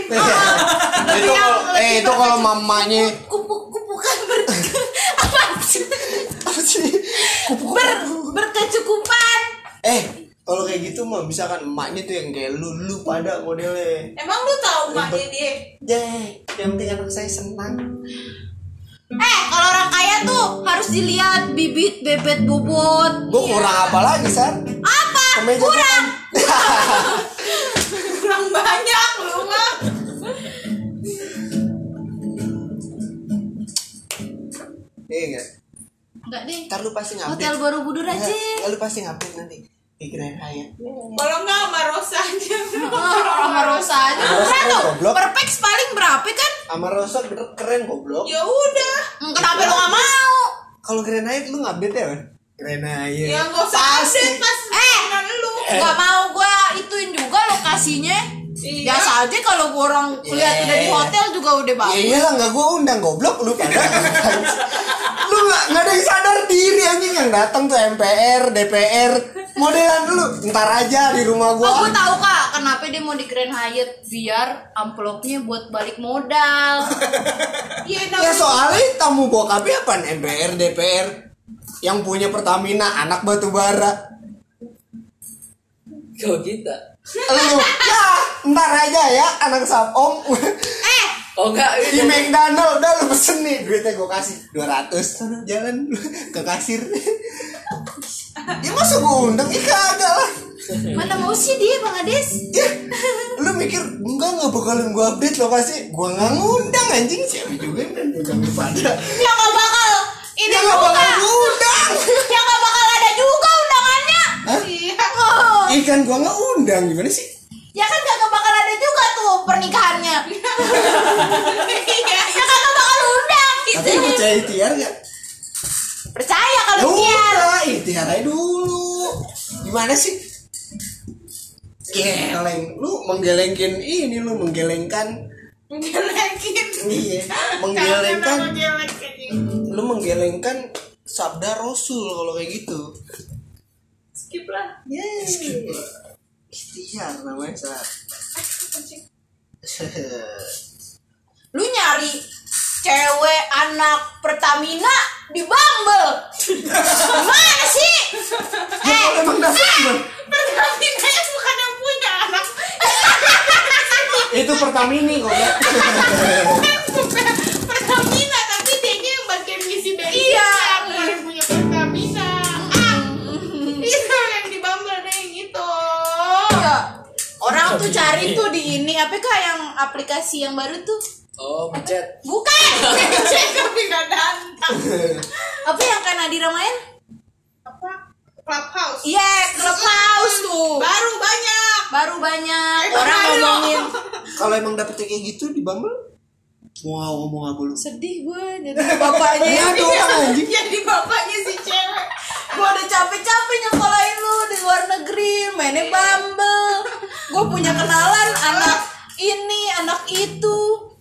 Itu kalau mamanya Kupu-kupukan apa sih? apa sih? Berkecukupan. Kalau kayak gitu mah misalkan emaknya tuh yang kayak lu pada modelnya. Emang lu tahu maknya dia? Yang penting anak saya senang. Kalau orang kaya tuh harus dilihat bibit, bebet, bobot. Gue kurang apa lagi, San? Apa? Kemeja Kurang. Kurang banyak lu mah. Iya enggak? Enggak deh. Ntar lu pasti ngupdate. Hotel Borobudur aja. Ya, lu pasti ngupdate nanti di Grand Hyatt. Kalau enggak sama Rosa aja. Sama Rosa aja. Rosa Murah tuh. goblok. Per pax paling berapa kan? Sama Rosa keren goblok. Ya udah. Kenapa lu gak mau? Kalau Grand Hyatt lu ngupdate ya, Man? Grand Hyatt. Ya enggak usah Pasti. update pas mainan lu. Gak mau gua ituin juga lokasinya. Iya. Biasa aja kalau gua orang lihat udah di hotel juga udah Ya bagus. iyalah nggak gue undang goblok lu pada. Lu nggak ada yang sadar diri anjing yang datang tuh MPR, DPR, modelan dulu. Ntar aja di rumah Oh, gua. gue tahu kak, kenapa dia mau di Grand Hyatt biar amplopnya buat balik modal. Iya Ya soalnya tamu bokapnya apaan? MPR, DPR, yang punya Pertamina, anak batu bara. Kau kita. Lu ya ntar aja ya anak sapong. Oh enggak, Di McDonald udah lu pesen nih, duitnya gue kasih 200. Sana jalan ke kasir. Ya masa gue undang? Ih kagak lah. Mana mau sih dia Bang Ades? Ya, lu mikir enggak bakalan gue update lokasi. Gue nggak ngundang anjing, siapa juga yang ngundang lu pada. Ya gak bakal ini Ya nggak juga. bakal ngundang. Ya gak bakal ada juga undangannya. Hah? Iya. Oh. Ikan gue nggak undang gimana sih? Ya kan gak bakal ada juga tuh pernikahannya. Iya. Ya kagak bakal undang. Tapi lu percaya ikhtiar gak? Percaya Ya kalau dia. udah, ikhtiar aja dulu. Gimana sih? Geleng, lu menggelengkin ini, lu menggelengkan. Menggelekin. Iya, menggelengkan. Kenapa gelekin? Lu menggelengkan sabda Rasul kalau kayak gitu. Skip lah. Yes. Ikhtiar namanya Sar. Lu nyari cewek anak Pertamina di Bumble. Gimana sih? Emang dasar gimana? Pertamina yang bukan yang punya anak. Itu Pertamini kok ya. Pertamina tapi dia yang bagian ngisi bensin. Iya. Bukan yang punya Pertamina. Itu yang di Bumble deh gitu. Iya. Orang tuh cari tuh di ini apa kak yang aplikasi yang baru tuh? Oh, mencet. Bukan. Cek tapi gak datang. Apa yang kan Nadira main? Apa? Clubhouse. Iya, Clubhouse tuh. Baru banyak. Baru banyak Emang orang ayo. ngomongin. Kalau emang dapetnya kayak gitu di Bumble, mau ngomong apa lu? Sedih gue jadi bapaknya. Ya ada orang anjing. Jadi bapaknya si cewek. Gue udah capek-capek nyekolahin lu di luar negeri, mainnya Bumble. Gue punya kenalan anak ini, anak itu.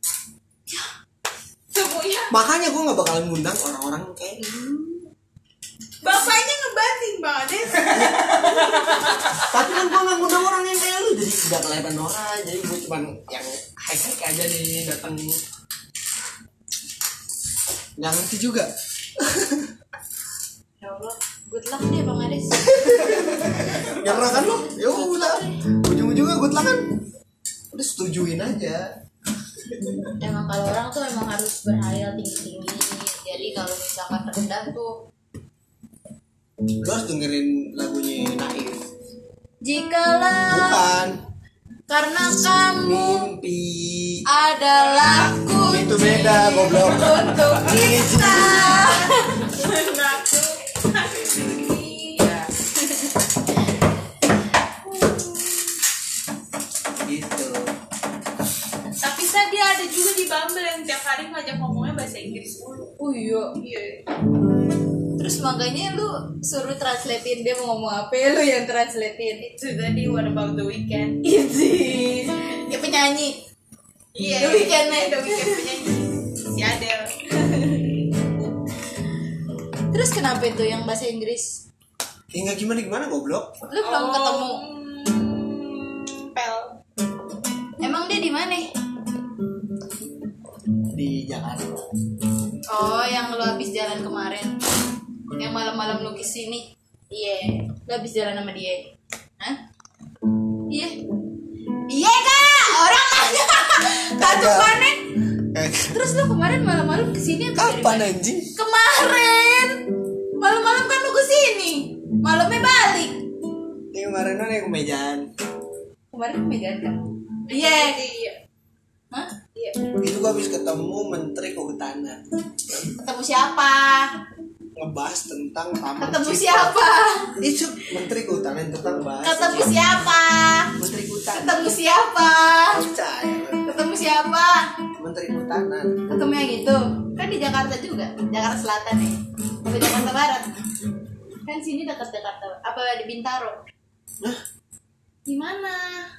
Semuanya. Makanya gue nggak bakalan ngundang orang-orang kayak lu. Bapaknya ngebanting banget. Tapi kan gue nggak ngundang orang yang kayak lu, jadi nggak kelihatan orang. Jadi gue cuman yang high aja nih datang. Nggak ngerti juga. Ya Allah, good luck deh Bang Ades. Nyerah kan lu? Ya udah. Ujung-ujungnya gue telangan. Udah setujuin aja. Emang kalau orang tuh emang harus berhayal tinggi-tinggi. Jadi kalau misalkan rendah tuh Lu harus dengerin lagunya Naif. jikalau Bukan. karena kamu Mimpi. adalah Itu beda goblok. untuk kita. bego. Iya. Terus makanya lu suruh translatein dia mau ngomong apa, lu yang translatein. Itu tadi What About the Weekend. Itu ya penyanyi. Iya. The Weeknd nih. The Weeknd penyanyi. Si Adele. Terus kenapa itu yang bahasa Inggris? Ya nggak gimana goblok. Lu belum ketemu. Pel. Emang dia di mana? Di Jakarta. Oh, yang lu habis jalan kemarin. Yang malam-malam lu kesini. Iya. Lu habis jalan sama dia. Hah? Iya. Iya kak. Orang nanya. Katu panik. Terus lu kemarin malam-malam kesini atau Kapan dari mana? anjing? Kemarin. Malam-malam kan lu kesini. Malamnya balik. Ini kemarin kan yang kemejaan. Kemarin megang kan? Iya. Iya. Hah? Iya. Itu gua habis ketemu Menteri Kehutanan. Ketemu siapa? Ngebahas tentang taman Ketemu cipta. siapa? Itu Menteri Kehutanan tentang bahas. Ketemu siapa? Menteri Kehutanan. Ketemu siapa? Percaya. Ketemu siapa? Menteri Kehutanan. Ketemu yang itu. Kan di Jakarta juga. Jakarta Selatan ya. Atau Jakarta Barat. Kan sini dekat Jakarta. Apa di Bintaro? Nah, Di mana?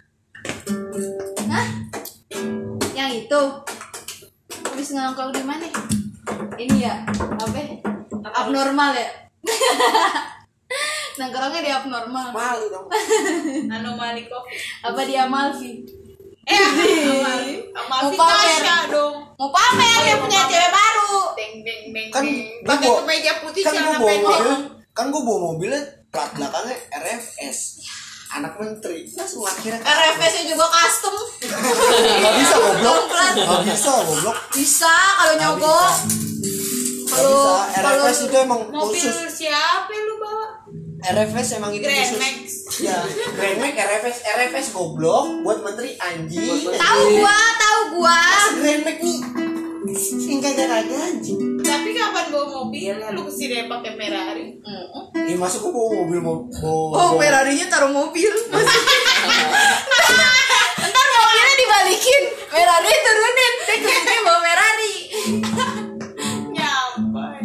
Hah? Yang itu. Habis ngangkau di mana? Ini ya, apa? Abnormal ya? Nongkrongnya di abnormal. malu dong. Anomali Covid. Apa di Amalfi? Amalfi Mau pamer. Tasya dong. Mau pamer dia punya cewek baru. Beng beng beng. Kan beng. gua Pakai bawa- kemeja putih Kan celana gua bawa pendek. mobil. Kan gua bawa mobilnya plat belakangnya RFS. Anak menteri. Langsung akhirnya RFS-nya juga custom. Gak bisa goblok. Pelan. Gak bisa goblok. Bisa kalau nyogok. Gak bisa. RFS itu emang Mobil khusus. siapa yang lu bawa? RFS emang itu Grand khusus. Max. Ya, Grand Max RFS goblok buat menteri anjing. Tahu gua. Grand Max nih. Kagak anjing. Tapi kapan bawa mobilnya lu kesini pakai Ferrari? Ini masuk gua bawa mobil Oh, Ferrari-nya taruh mobil. Ntar mobilnya dibalikin, Ferrari turunin, dia kesini bawa Ferrari. Nyampai.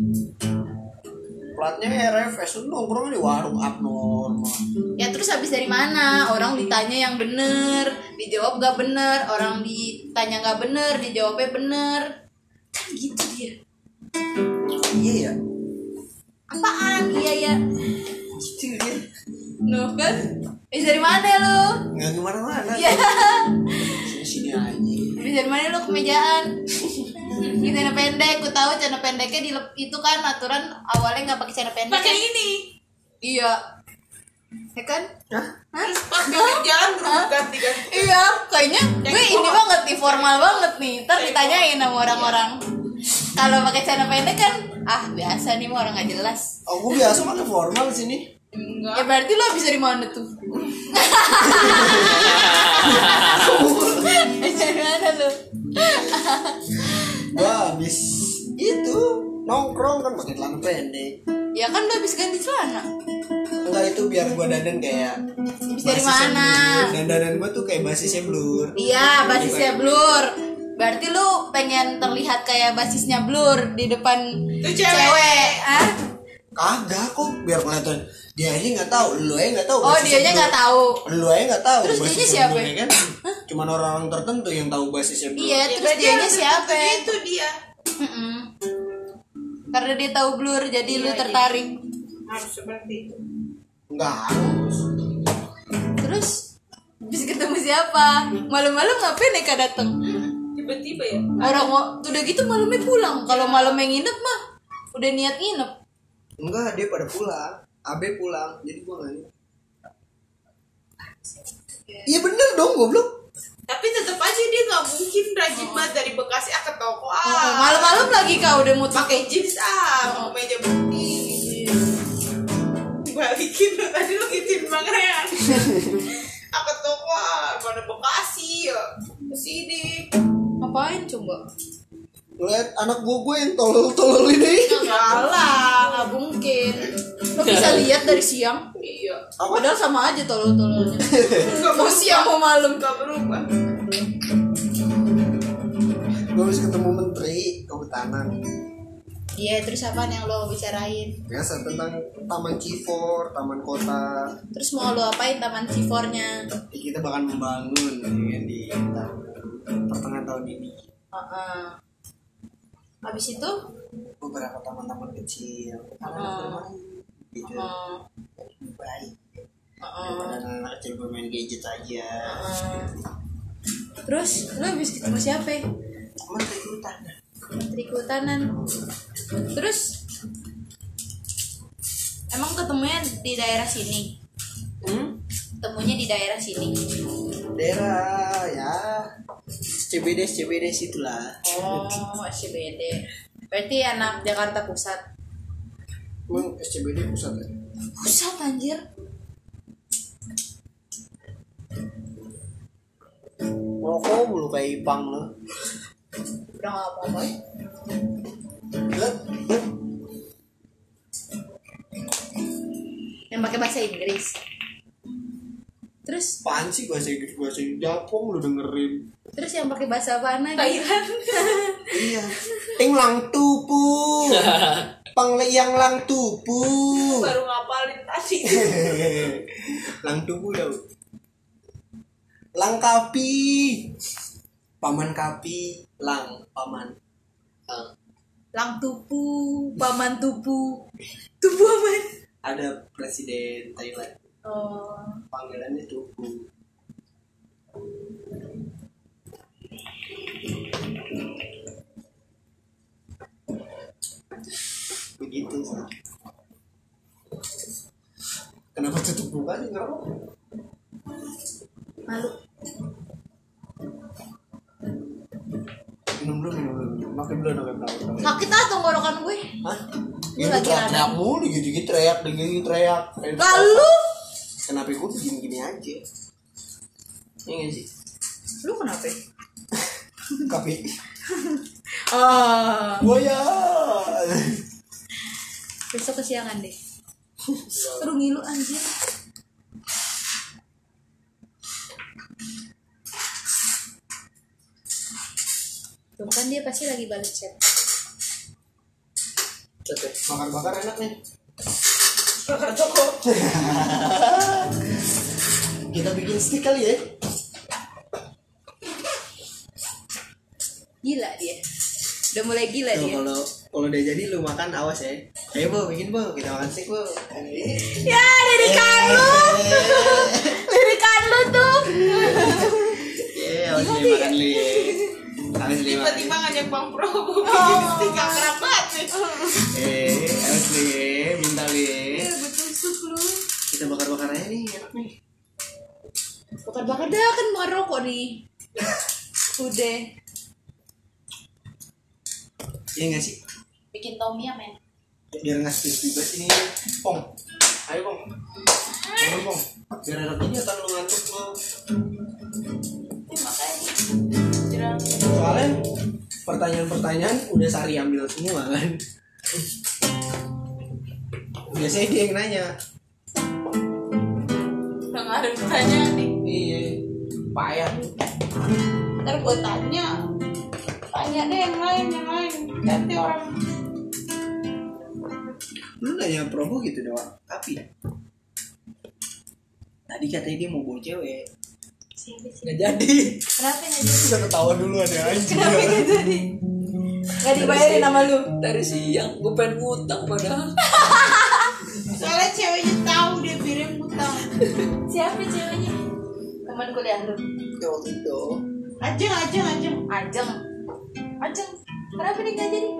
platnya RFS lu nongkrong di warung abnormal. Ya terus habis dari mana? Orang ditanya yang bener, dijawab gak bener. Orang ditanya gak bener, dijawabnya bener. Kan gitu dia. Iya ya. Apaan? Iya ya. Gitu dia. Nuh kan? Dari mana lu? Nggak kemana-mana. Ya. Sini aja. Habis dari mana lu kemejaan? Gitu celana pendek, ku tahu celana pendeknya itu kan aturan awalnya nggak pakai celana pendek. Pakai kan? ini. Iya. Ya kan? Hah? Terus pas pinggir jalan berubah ganti-ganti. Iya, kayaknya gue ini banget nih, formal banget nih. Ntar ditanyain sama orang-orang. Kalau pakai celana pendek kan, biasa nih mah orang nggak jelas. Oh, gue biasa pakai formal sini. Ya berarti lo habis dari mana tuh? Dari mana lo? Gua habis itu nongkrong kan pakai celana pendek. Ya kan lo habis ganti celana. Enggak, itu biar gua dandan kayak Habis dari basisnya mana? Blur. Dan dandan gua tuh kayak basisnya Blur. Iya, basisnya Blur. Berarti lu pengen terlihat kayak basisnya Blur di depan Itu cewek. ah? Kagak kok, biar kelihatan dia aja nggak tahu, lu aja nggak tahu. Oh, basisnya dianya Blur. nggak tahu. Lu aja nggak tahu. Terus basisnya dianya siapa? Blur, ya kan? Cuman orang-orang tertentu yang tahu basisnya Blur. Iya, Ya, terus berarti dianya harus siapa? Itu dia. Mm-mm. Karena dia tahu Blur, jadi lu Iya, tertarik. Harus seperti itu. Nggak harus. Terus bisa ketemu siapa? Malam-malam ngapain Eka dateng? Tiba-tiba ya. Orang mau udah gitu malamnya pulang. Kalau malamnya nginep mah udah niat nginep. Enggak, dia pada pulang. Abe pulang, jadi gua nggak nginep. Iya bener dong, goblok. Tapi tetap aja dia nggak mungkin rajin banget dari Bekasi ke toko. Malam-malam lagi kau udah mau Pakai jeans meja putih. Balikin lu tadi lu gituin Bang Rehan. Ke toko mana Bekasi ya. Kesini. ngapain coba? Ngeliat anak gue yang tolol-tolol ini. Salah, nggak mungkin. Lo bisa lihat dari siang. Iya. Padahal sama aja tolol-tololnya. Mau siang mau malam. Gak berubah. Gue habis ketemu Menteri Kehutanan. Iya, terus apaan yang lo bicarain? Biasa tentang taman Civor, taman kota. Terus mau lo apain taman Civornya? Kita bakal membangun ya, di pertengahan tahun ini. Habis itu? Beberapa taman-taman kecil. Gitu. Lebih baik. Daripada anak kecil bermain gadget aja. Terus lo habis ketemu siapa? Menteri Kehutanan. Menteri Kehutanan. Terus emang ketemunya di daerah sini? Ketemunya di daerah sini. Daerah ya CBD situlah. Oh, SCBD. Berarti anak Jakarta Pusat. Emang SCBD pusat ya? Pusat anjir. Rokok mulu kayak Ipang lo. Udah gak apa-apa ya? Yang pakai bahasa Inggris. Terus Apaan sih bahasa Inggris Japong lu dengerin. Terus yang pakai bahasa apa lagi? Iya. Ting lang tupu. Pangleyang lang tupu. Baru ngapalin tadi. Lang tupu ya. Lang kapi. Paman kapi, lang paman. Lang tupu, paman tupu. Tupu aman. Ada presiden Thailand. Oh. Panggilannya tupu. Begitu sih. Kenapa tutup buka sih ngerokok? Malu. Minum dulu. Makin belum. Sakit ah tenggorokan gue. Hah? Gue Gitu lagi teriak mulu, gitu teriak. Lalu Kenapa gue begini aja? Iya gak sih? lu kenapa? Kapi. Ah. Buaya. Besok kesiangan deh. Seru ngilu anjir. Tuh kan dia pasti lagi balik chat. Bakar enak nih. Bakar toko. Kita bikin stick kali ya. Gila dia. Udah mulai gila Tuh, dia. kalau udah jadi lu makan awas ya. Ayo Bu, bikin Bu, kita makan stick Bu. Ya, lirikan lu. Lirikan lu tuh. Awas li makan li. Awas li makan. Tiba-tiba ngajak Bang Prabowo bikin stick akrab banget nih. Awas li, minta li. Betusuk lu. Kita bakar aja nih, enak nih. Bakar-bakar dah kan bakar rokok nih. Udah. Iya nggak sih? Bikin Tommy ya men. Biar nggak stick juga sini. Pong, ayo Pong. Ayo Pong. Biar enak aja kan lu ngantuk lu. Makanya. Soalnya pertanyaan-pertanyaan udah Sari ambil semua kan. Biasanya dia yang nanya. Udah gak ada ditanya nih. Iya. Payah. Ntar gue tanya deh yang lain. Ganti orang. Lu nanya promo gitu doang. Tapi tadi katanya dia mau bawa cewek. Nggak jadi. Kenapa nggak jadi? Udah ketawa dulu ada anjing. Kenapa nggak jadi? Nggak dibayarin sama lu. Dari siang gue pengen ngutang padahal. Soalnya ceweknya tahu dia birim utang. Siapa ceweknya? Teman kuliah lu. Ya waktu itu. Ajeng. Kenapa dia nggak jadi?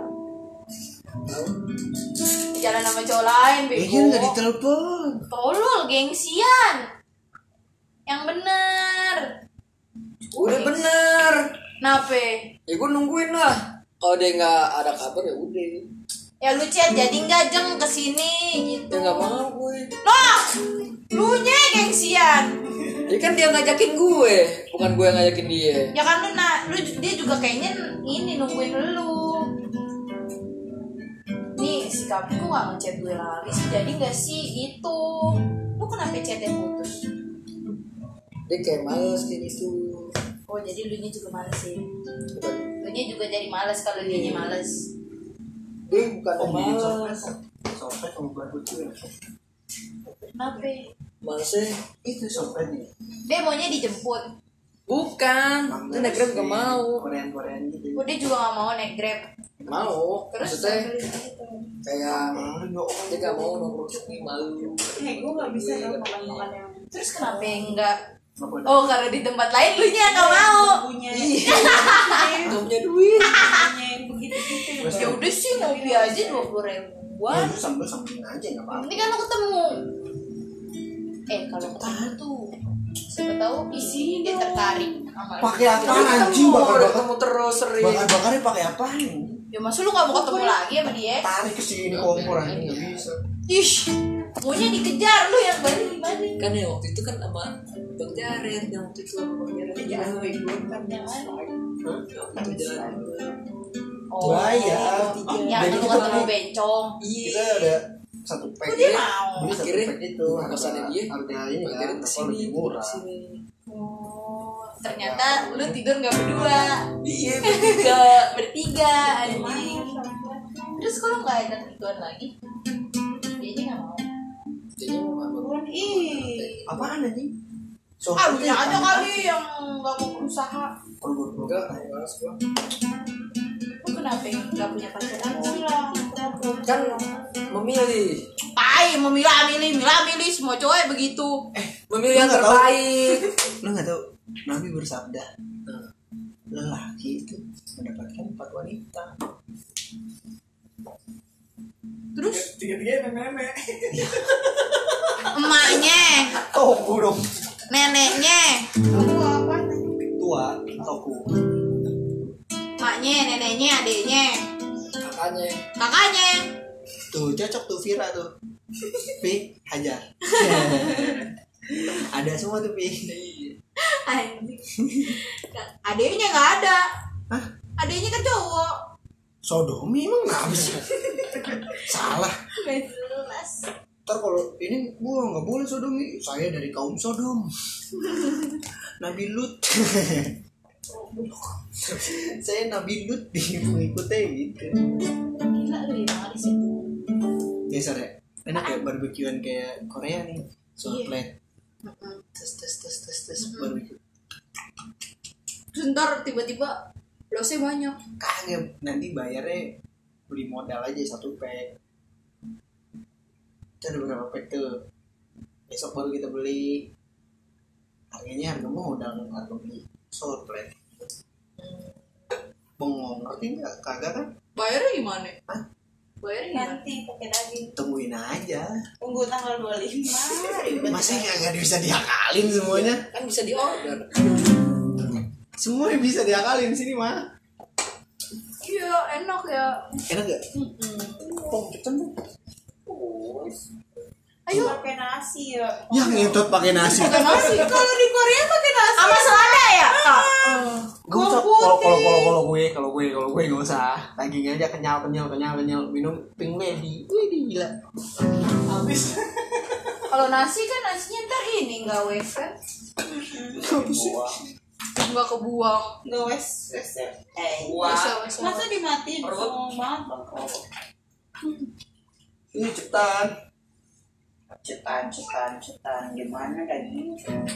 Jalan sama cowok lain, bego. Iya nggak ditelepon. Tolol, gengsian. Yang bener. Udah bener. Kenapa? Ya gue nungguin lah. Kalau dia nggak ada kabar ya udah. Ya lu chat jadi nggak Jeng kesini gitu. Ya nggak mau gue. Loh, lu nya gengsian. Ya kan dia ngajakin gue, bukan gue yang ngajakin dia. Ya kan lu dia juga kayaknya ini nungguin lu. Nih si Kapi kok nggak ngechat gue lagi sih, jadi nggak sih itu. Lu kenapa chatnya putus? Dia kayak males kayak gitu. Oh jadi lu nya juga males sih. Lu nya juga jadi males kalau dia nya males. Dia bukan bikin malas. sopet sama barbut tuh ya. Kenapa? Masih Itu sopet nih. Dia maunya dijemput. bukan. Dia naik Grab gak mau. Korean gitu. Oh, dia juga gak mau naik Grab. Mau. Terus Maksudnya sambil gitu. kayak dia gak mau nongkrong sini malu. Gue gak bisa dong makan yang Terus kenapa enggak? Oh, karena di tempat lain lu nya gak mau. punya Gak punya duit. yang begitu-gitu. Ya udah sih, ngopi aja 20.000. Wah, itu sambil-sambilin aja enggak apa-apa. Ini kan lo ketemu. Kalau ketemu tuh siapa tahu isi dia tertarik sama lu. Pakai apa anjing bakar-bakar? Ketemu terus sering. Bakar-bakarnya pakai apaan? Ya masa lu gak mau ketemu lagi sama dia? Tarik ke sini kompor anjing enggak bisa. Ih, maunya dikejar lu yang balik gimana? Kan ya waktu itu kan sama Bang Jared yang waktu itu sama Bang Jared Ya, jalan gue kan Jangan. waktu itu jalan Oh, Bahaya. yang Jadi lu kita ketemu beli- bencong. Kita ada satu pack. Dia mau. Beli satu Akhirnya pack itu kosannya dia harga ini Bang kan Jared apa kesini lebih murah. kesini. Oh, ternyata lu tidur gak berdua. Iya Bertiga anjing. Terus kalau nggak ada tentuan lagi, dia aja nggak mau. Jadinya mau apa? Ih, Apaan anjing? Ah, lu aja kali yang nggak mau berusaha. Enggak, malas gua. Lu kenapa nggak punya pacaran sih lah? Kan memilih Milih semua cowok begitu. memilih yang Lu nggak tahu? terbaik. Lu nggak tahu Nabi bersabda, lelaki itu mendapatkan 4 wanita. Terus Tiga-tiga nenek. emaknya, Oh, dong. neneknya, Tua, toku. emaknya, neneknya, adiknya, Makanya kakaknya. Tuh, cocok tuh Vira tuh. Pi, hajar. Ada semua tuh Pi. Anjing. Adiknya nggak ada. Hah? Adiknya kan cowok. Sodomi emang kenapa sih? Salah. Nggak jelas. Ntar kalau ini gua nggak boleh sodomi, saya dari kaum Sodom. Nabi Lut. Saya Nabi Lut di mengikuti gitu. Gila lu ya di situ. Biasa deh. Enak ya barbekyuan kayak Korea nih. Soal plate. Tes barbecue. Terus ntar tiba-tiba losnya banyak. Kagak, nanti bayarnya beli modal aja 1 pack. Itu ada berapa pack tuh? Besok baru kita beli. Harganya harga modal, harga beli sour plate. Bengong, ngerti nggak? Kagak kan? Bayarnya gimana? Hah? Bayarnya gimana? nanti pakai daging. Tungguin aja. Tunggu tanggal 25. Masa nggak bisa diakalin semuanya? kan bisa di order. Semuanya bisa diakalin sini mah. Iya, enak ya. Enak gak? Pong kita tuh. Ayo pakai nasi ya. Ya ngentot pakai nasi. Pakai nasi. Kalau di Korea pakai nasi. Sama selada ya, Kak? Gak usah. Kalau gue gak usah. Daging aja kenyal. Minum Pink Lady. Wih gila. Habis. Kalau nasi kan nasinya ntar ini nggak wes kan? Nggak kebuang. Nggak wes. Wah. Masa dimatiin? Songong banget Bang. Ini cepetan. Cetan. Gimana daging?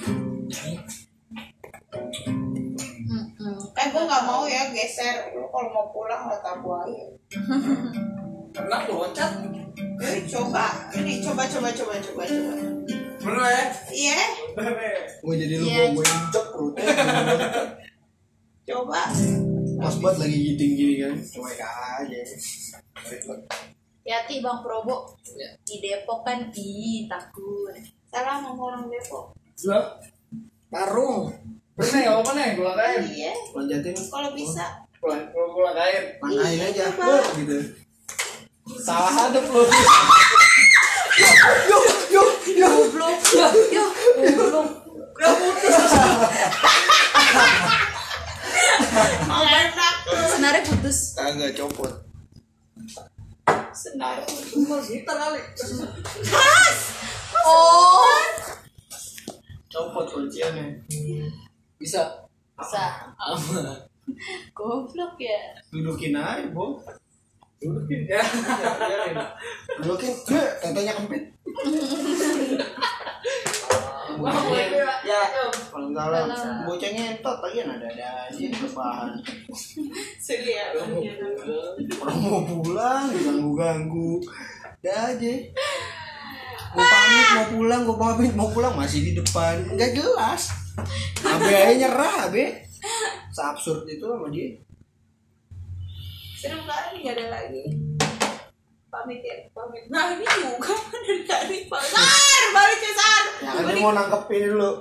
Gue nggak mau ya geser. Lu kalau mau pulang nggak tabu aja. Enak tuh loncat. Coba. Ini coba. Bener ya? Iya. Bener. Gue jadi lu Iya. gue injek perutnya. Coba. Pas banget lagi giting gini kan. Cuek aja. Hati Bang Probo. Ya. Di Depok kan takut. Salah sama orang Depok. Lah. Tarung. Bener nggak apa-apa nih, gula kain. Iya. Lonjatin. Kalau bisa. Gula kain. Mangkain aja. Coba. Gitu. Salah hadap lu. Goblok. Yo, goblok. Enak. Senarnya putus. Kagak copot. Senar. Kita kali. Oh. Copot kunciannya. Dudukin ya. Biarin. Dudukin, tetenya kempit. Ya. Kalau salah, bocah ngentot lagi ada aja rebahan. Sedih ya. Orang mau pulang diganggu-ganggu. Ada aja. Gue pamit mau pulang masih di depan. Enggak jelas. Abe aja nyerah, Abe. Seabsurd itu sama dia. Seru kali nggak ada lagi. Pamit ya, pamit. Nah ini juga dari tadi Pak. Sar, balik ke Sar. Ya kan dia mau nangkepin dulu.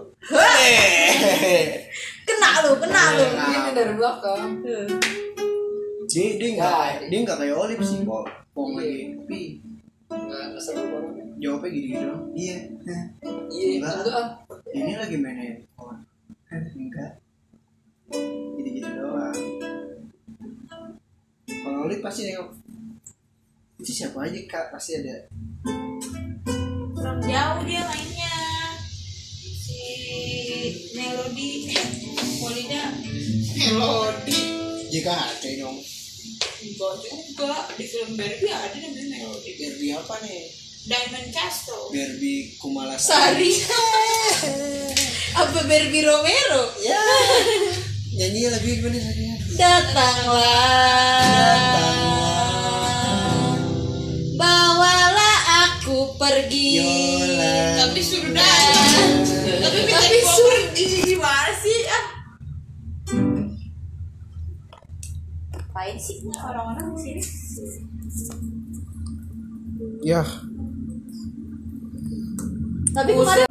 Kena lu. Ini dari belakang. Dia enggak kayak Olip sih, kok. Pong lagi. Pi. Nggak seru banget. Jawabnya gini-gini dong. Iya. Iya, enggak. Ini lagi main handphone. Enggak. Gitu-gitu doang. Kalau Olip pasti nengok. Itu siapa aja Kak? Pasti ada. Kurang jauh dia mainnya. Si Melody, Polida, Melody. Jika ada dong. Enggak juga di film Barbie ada namanya Melody. Barbie apa nih? Diamond Castle. Barbie Kumalasari. Sari. Apa Barbie Romero? Ya. Nyanyi lagu gimana tadi? Datanglah. Bawalah aku pergi. Yola. Tapi suruh datang. Tapi minta dibawa pergi gimana sih? Ngapain sih orang-orang di sini? Ya. Tapi kemarin